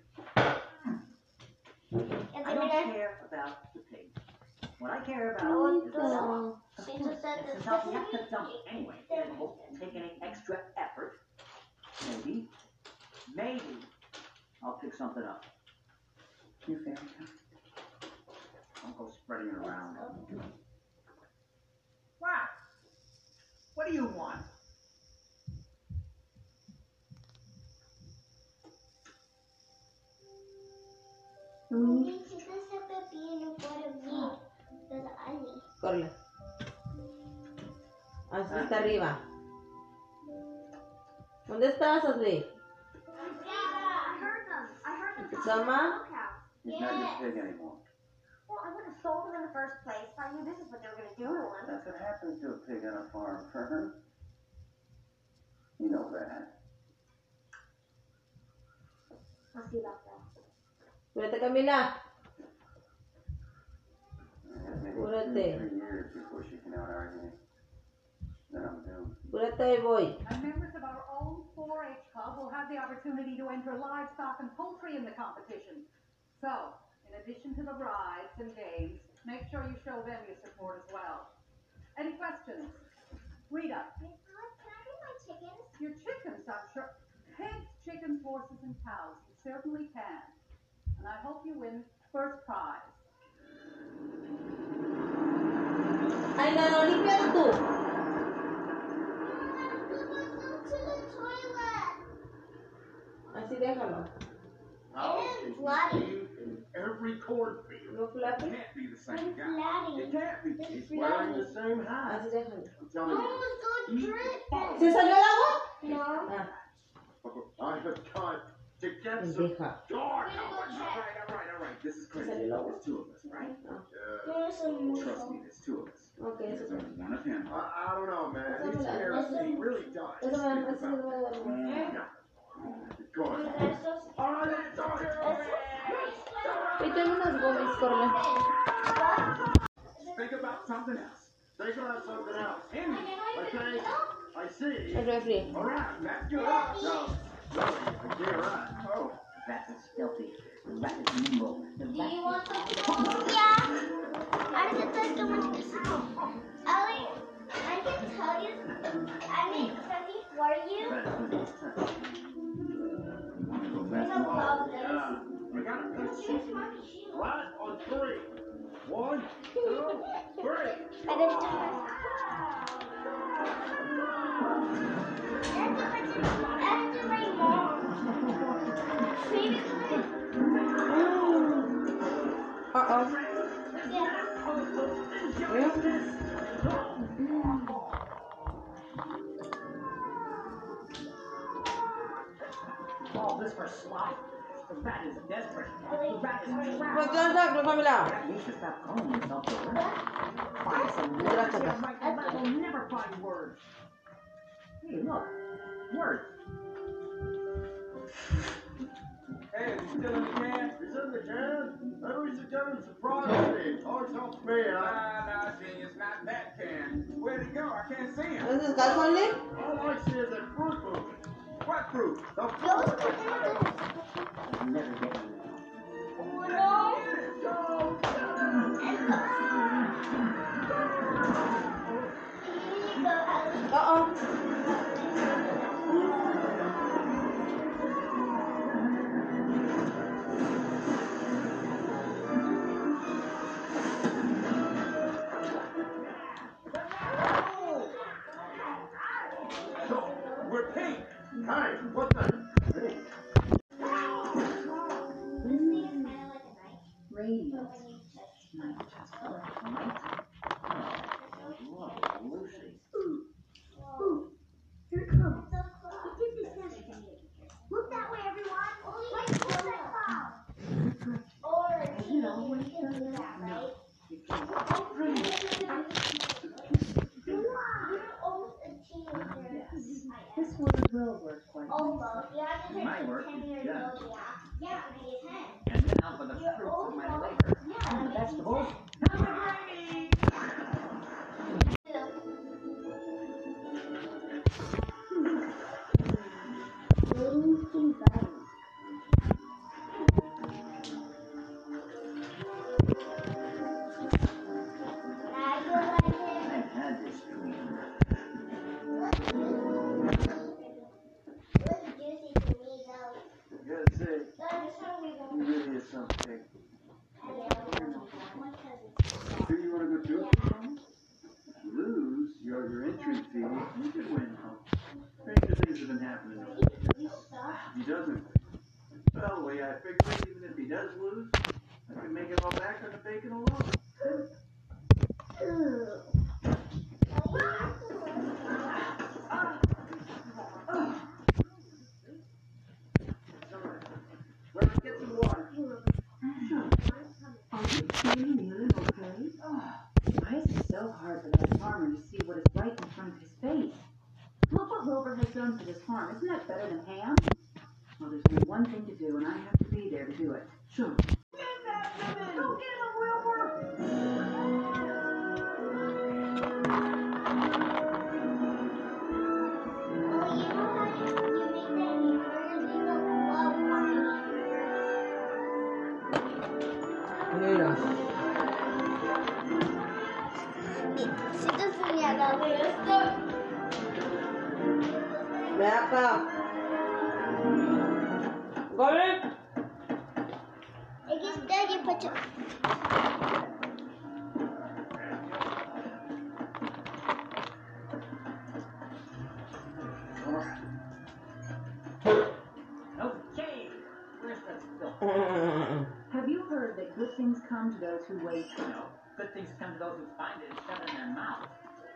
And I don't then care about the pig. What I care about is the slop. she just said Since the I'll have to dump it anyway, it won't take any extra effort. Maybe, maybe I'll pick something up. You're fair enough. Don't go spreading it around. What? What do you want? Chicas, se pepino por mí. Pero Ali. Corre. Así está arriba. ¿Dónde estás, Ashley? I heard them. I heard them talking Sama? about the smokehouse. He's not your pig anymore. Well, I would have sold them in the first place if I knew this is what they were going to do to him. That's what happens to a pig on a farm, Fern. You know that. I'll see about that. Espérate, Camila. Maybe Apúrate. two, three years before she can out argue me. Then I'm doomed. Apúrate, ahí voy. And members of our own four H club will have the opportunity to enter livestock and poultry in the competition. So, in addition to the rides and games, make sure you show them your support as well. Any questions? Rita? Can I get my chickens? Your chickens, I'm sure. Pigs, chickens, horses, and cows. You certainly can. And I hope you win first prize. Ay, no, no, límpialo tú. To the toilet. Así déjalo. How It is can bloody. you see in every cornfield? No flappy. It can't be the same It's guy. bloody. It can't be. It's He's wearing bloody. the same hat. Así déjalo. I'm telling Mom you. was going to drink ¿Se it. salió el agua? No. Ah, I have got to get some pendeja. dark. I'm gonna go All check. right, all right, all right. This is crazy. Sale el agua. There's two of us, right? Yeah. Give me some more. Trust me, there's two of us. Ok, eso There's es. only one of him. I, I don't know, man. Eso He me la- scares eso- me. He really does. Eso me Think da, eso about me it. da. Yeah. Go You on. guys just- All right, it's okay. Y tengo unas gomis, Corme. Think about something else. Think about something else. Andy, Okay, I see. El refri. all right, that's good. No, really, I get right. Oh, that is stealthy. The rat is nimble. The Do rat you is want some? Yeah. I just like to make this out. Ellie, I can tell you, I made something for you. You're gonna love this. Yeah. I got a piece. Here's my shoe. Right on three. One, two, three. I just do my. That's to my mom. Maybe Uh-oh. all this for slop. The rat is desperate. The rat is trapped. Pues ya está, pues familia. You should stop calling yourself the rat. Find some words. Gracias. You'll write the rat will never find words. Hey, look. Words. Hey, is he still in the can? He's in the can. Maybe we should get him some prize money. Always helps me out. Nah, nah, genius, not that can. Where'd he go? I can't see him. ¿Dónde está el Conley? All I see is that fruit moving. What fruit? The Those fruit. are Never get me. no. Uh-oh. We're pink. Hey, what the? Hey. Radiant. Night just for night. Whoa, Lucy. Here it comes. Look that way, everyone. Like what's that cloud? Or a teeny. You can do that, right? You're almost a teenager. This word will work quite Almost. You have to My take work ten is years done. old, yeah. Yeah, maybe ten. And now for the You're fruits of my almost. labor. Yeah, maybe Vegetables. I've had this dream. I gotta say, you really is something. Sure you wanna go do it for me? Lose your, your entry fee. You could win. Stranger things have been happening. He doesn't. Well, the way I figure, even if he does lose, I can make it all back on the bacon alone. Well, get some water. Are you feeling ill and okay? Why is it so hard for that farmer to see what is right in front of his face? Look what Wilbur has done for this farm. Isn't that better than Ham? Well, there's only one thing to do, and I have to be there to do it. Sure. Go get him, Wilbur. Well, you know how you, you make that hamburger? They don't love my hamburger. Mira. Ven acá. Corre. I guess Daddy put it. Okay, where's that still? Have you heard that good things come to those who wait? No, good things come to those who find it and shove it in their mouth.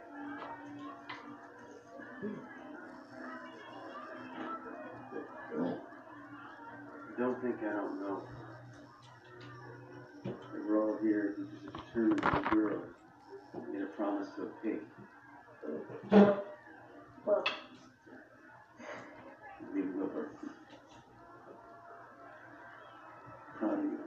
Don't think I don't know. That we're all here because of determined little girl made a promise to a pig. Well, Leave Wilbur. Proud of you.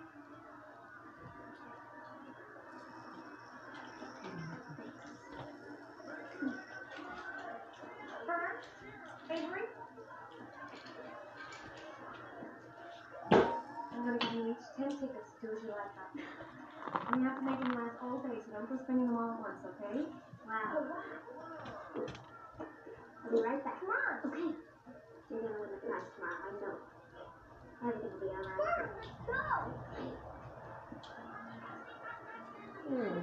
Avery? I'm gonna give you each ten tickets to do as you like that. And you have to make them last all day, so don't go spending them all at once, okay? Wow. I'll be right back. Come on. Okay. You're gonna win the prize tomorrow, I know. Everything will be alright. Go! Hmm.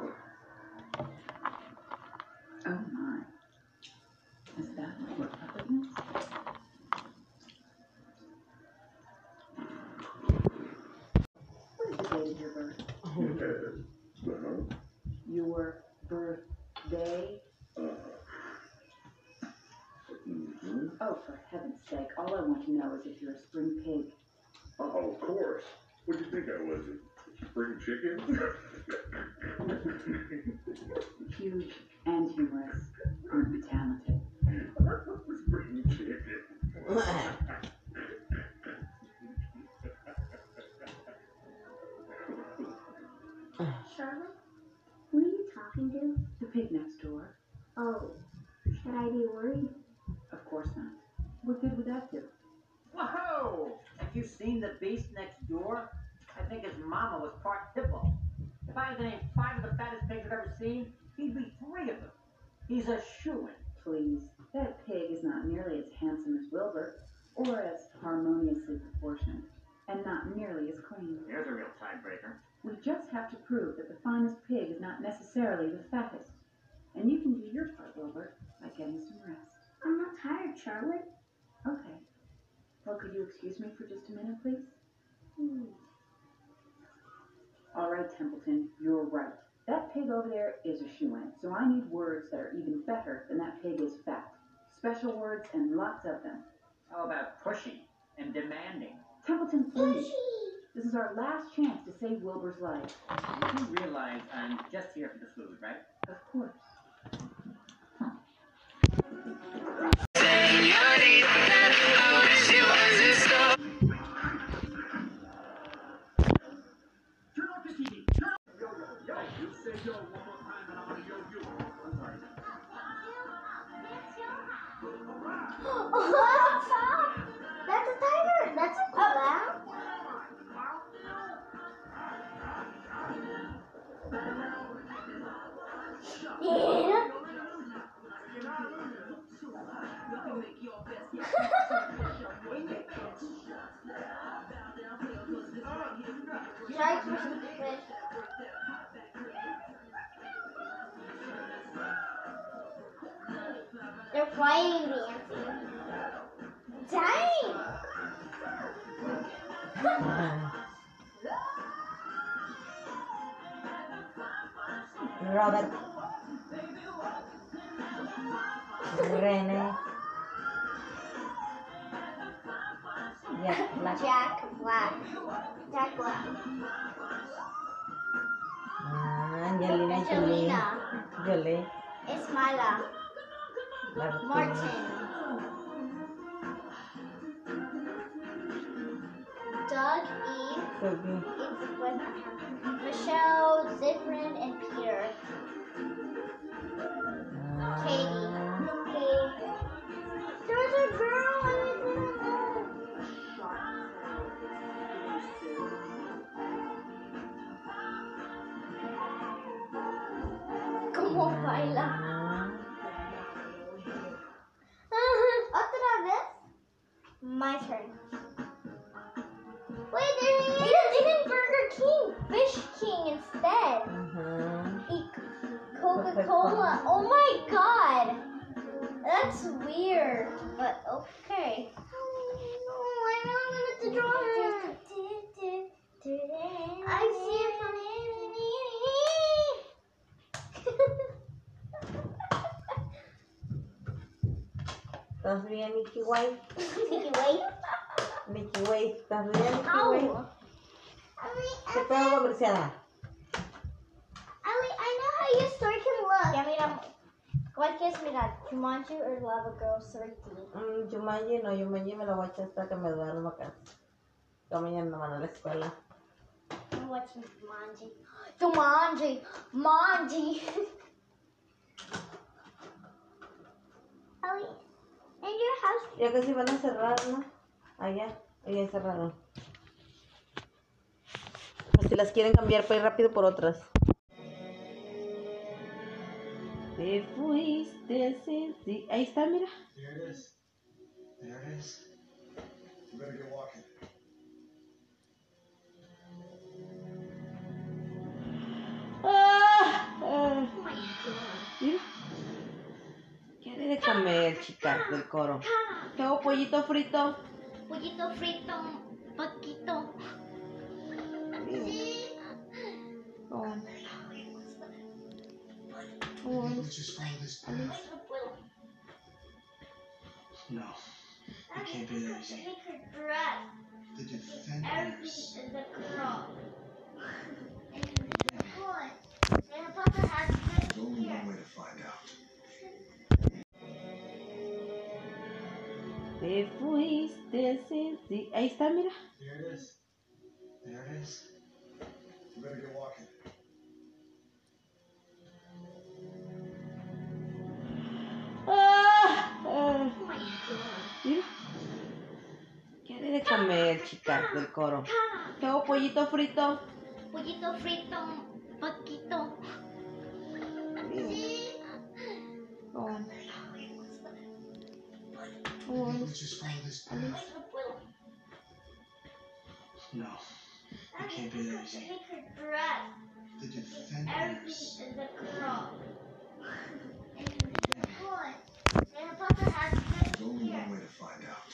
oh my. Is that what we're up against? What is the date of your birth? Uh-huh. Your birthday? Uh-huh. Mm-hmm. Oh, for heaven's sake, all I want to know is if you're a spring pig. Oh, of course. What'd you think I was? A spring chicken? Huge and humorous. Aren't you talented? Spring chicken. Charlotte? Who are you talking to? The pig next door. Oh, should I be worried? Of course not. What good would that do? Whoa! Have you seen the beast next door? I think his mama was part hippo. If I had to name five of the fattest pigs I've ever seen, he'd be three of them. He's a shoo-in. Please, that pig is not nearly as handsome as Wilbur, or as harmoniously proportioned, and not nearly as clean. Here's a real tiebreaker. We just have to prove that the finest pig is not necessarily the fattest. And you can do your part, Wilbur, by getting some rest. I'm not tired, Charlotte. Okay. Well, could you excuse me for just a minute, please? Hmm. All right, Templeton, you're right. That pig over there is a shoo-in, so I need words that are even better than that pig is fat. Special words and lots of them. How about pushy and demanding? Templeton, please. This is our last chance to save Wilbur's life. You realize I'm just here for the food, right? Of course. That's a tiger. That's a clown. Yeah. Sharks versus fish. They're flying dancing. Dang! Robert. Rene. Jack Black. Jack Black. Jack Black. Ah, Angelina Jolie. Angelina. Jolie. Ismaila. Martin. Martin. Doug, Eve, Sophie. It's what, Michelle, Ziprin, and Peter. Katie. Katie. There was a girl and we didn't know. ¿Cómo baila? my turn. Wait, they didn't even Burger King, Fish King instead. Mm-hmm. Eat Coca-Cola. Oh my god. That's weird, but okay. Oh, I really wanted to draw her. I see it from ¿Estás bien, Mickey White? Mickey White. Mickey White, ¿estás bien, Mickey Ow. White? ¿Qué pedo, comerciada? Ali, I know how your story can look. Ya, mira, ¿cuál quieres mirar? Jumanji or Lava Girl three D? Mm, Jumanji, no, Jumanji me la voy a echar hasta que me duerma acá. Yo mañana no van a la escuela. I'm watching Jumanji. Jumanji! Manji! Ali, in your house... Ya casi van a cerrar, ¿no? Allá, allá cerraron. Si las quieren cambiar para ir rápido por otras. Te fuiste, sí, sí. Ahí está, mira. There it is. There it is. You better get walking. Ah, ah. Mira. Quiere de comer, chicas del coro. ¿Qué hago? Pollito frito. Pollito frito, poquito. Sí. Oh. Let's just follow this path. No, it can't be that easy. Take her dress. The defenders. Everything is a girl. Good. And Papa has good There's only here. one way to find out. Te fuiste, sí, sí. Ahí está, mira. There it is. There it is. You better get walking. Ah, ah. Mira. Quiere de comer, chicas del coro. ¿Qué hago? Pollito frito. Pollito frito, poquito. Sí. Oh. Oh. Let's just follow this path. No, it can't be that easy. Take her dress. The defenders. Everything is a girl. Good. And Papa has good There's only here. one way to find out.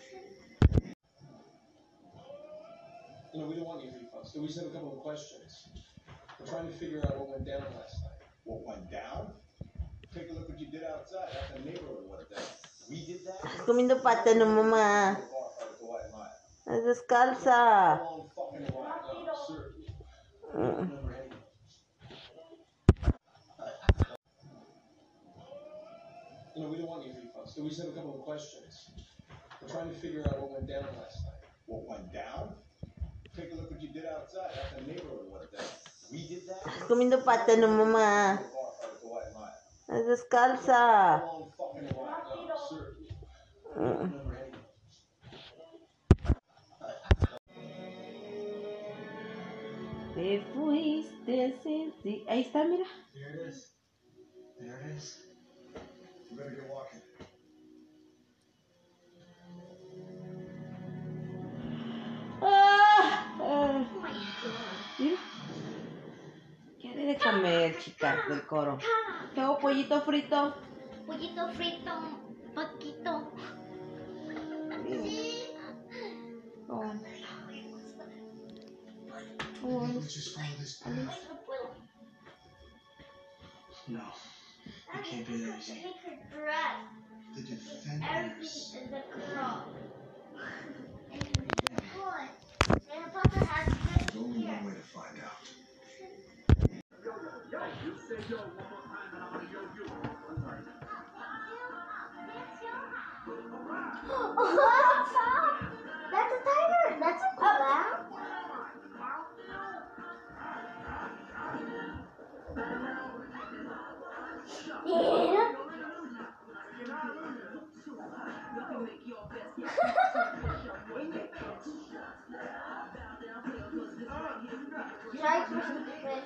You know, we don't want you refunds, so we just have a couple of questions. We're trying to figure out what went down last night. What went down? Take a look what you did outside. Out in the neighborhood went down. We did that? Estás comiendo plátano, mamá. Es descalza. Long fucking while. No, sir. Mm. Never ending. You know, we don't want you refunds, so we just have a couple of questions. We're trying to figure out what went down last night. What went down? Take a look what you did outside. Out in the neighborhood went down. We did that? Estás comiendo plátano, mamá. Es descalza. Long fucking while. No, sir. Mm. Never ending. Te fuiste, sí, sí. Ahí está, mira. There it is. There it is. You better get walking. Ah, ah. Mira. Quiere de comer, chicas del coro. ¿Qué hago? Pollito frito. Pollito frito, poquito. Sí. Oh. Oh. Let's just follow this path. No, it can't be that easy. Take her dress. The Everything defenders. is a girl. Good. And Papa has good There's only here. one way to find out. Yo, you say yo one more time and I'm gonna yo you. I'm sorry. That's a tiger. That's a clown. Yeah. Try to fish.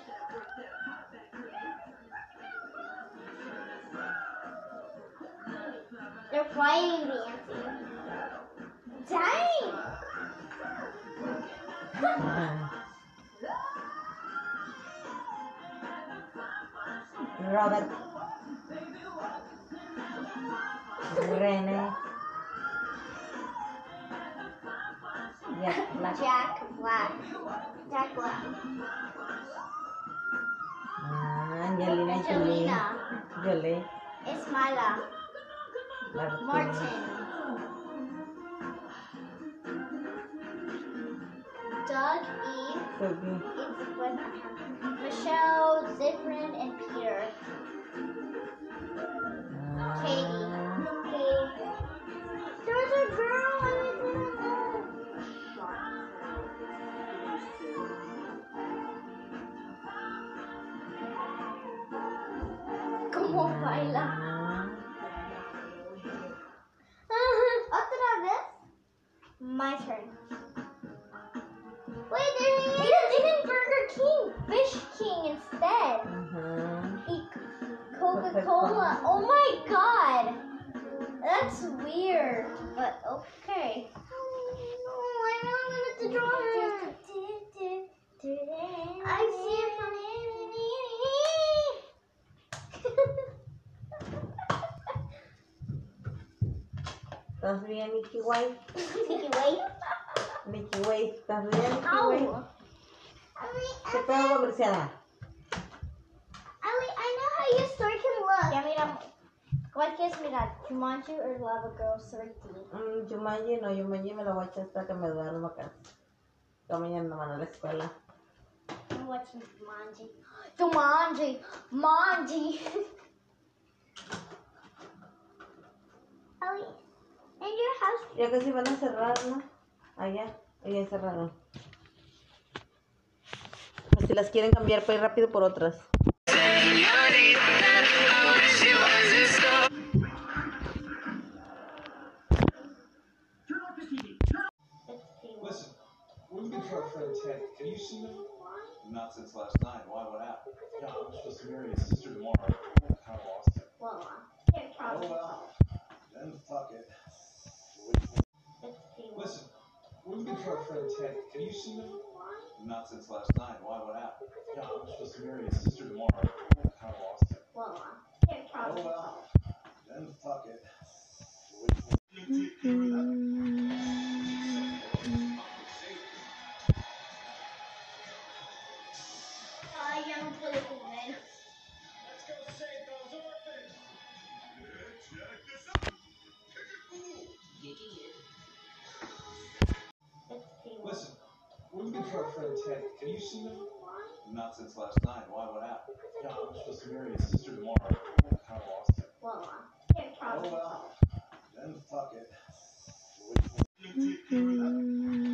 They're flying dancing. Dang! Robert. Rene. Jack Black. Jack Black. Jack Black. Ah, Angelina Jolie. Angelina. Jolie. Ismaila. Martin. Martin. Doug, Eve, Dougie. it's with Michelle, Ziprin, and Peter. Katie. Katie. There's a girl and a girl. ¿Cómo baila? ¿Otra vez? My turn. Wait, they didn't Burger King, Fish King instead. Uh-huh. Eat Coca-Cola. Oh my god. That's weird. But okay. Oh, I know I'm gonna have to draw her. I see it from ¿Estás bien, Mickey White? Mickey White. Mickey White, ¿estás bien, Mickey White? Ow. ¿Qué pedo, comercial? Ali, I know how your story can look. Ya mira, ¿cuál quieres mirar? Jumanji or Lava Girl three D? Mm, Jumanji, no, Jumanji me lo voy a echar hasta que me duerma acá. Yo mañana no van a la escuela. I'm watching Jumanji. Jumanji! Manji! Ali, in your house. Ya casi van a cerrar, ¿no? Allá, allá cerraron. Si las quieren cambiar para ir rápido por otras. Listen, we're looking for our friend Ted. Have you seen him? Not since last night. Why? What happened? Yeah, I'm supposed to marry his sister tomorrow. I kind of lost him. Well, can't Oh probably well. Then fuck it. Listen, we're looking for our friend Ted. Have you seen him? Not since last night. Why? What happened? Yeah, I'm supposed to marry his sister tomorrow. I kind of lost him. Well, can't Oh probably well. Then fuck it. Ay, ya no puedo comer. Listen, we're looking for our friend Ted. Have you seen him? Not since last night. Why? What happened? Yeah, I'm supposed to marry his sister tomorrow. I kind of lost him. Well, can't Oh probably well. Then fuck it.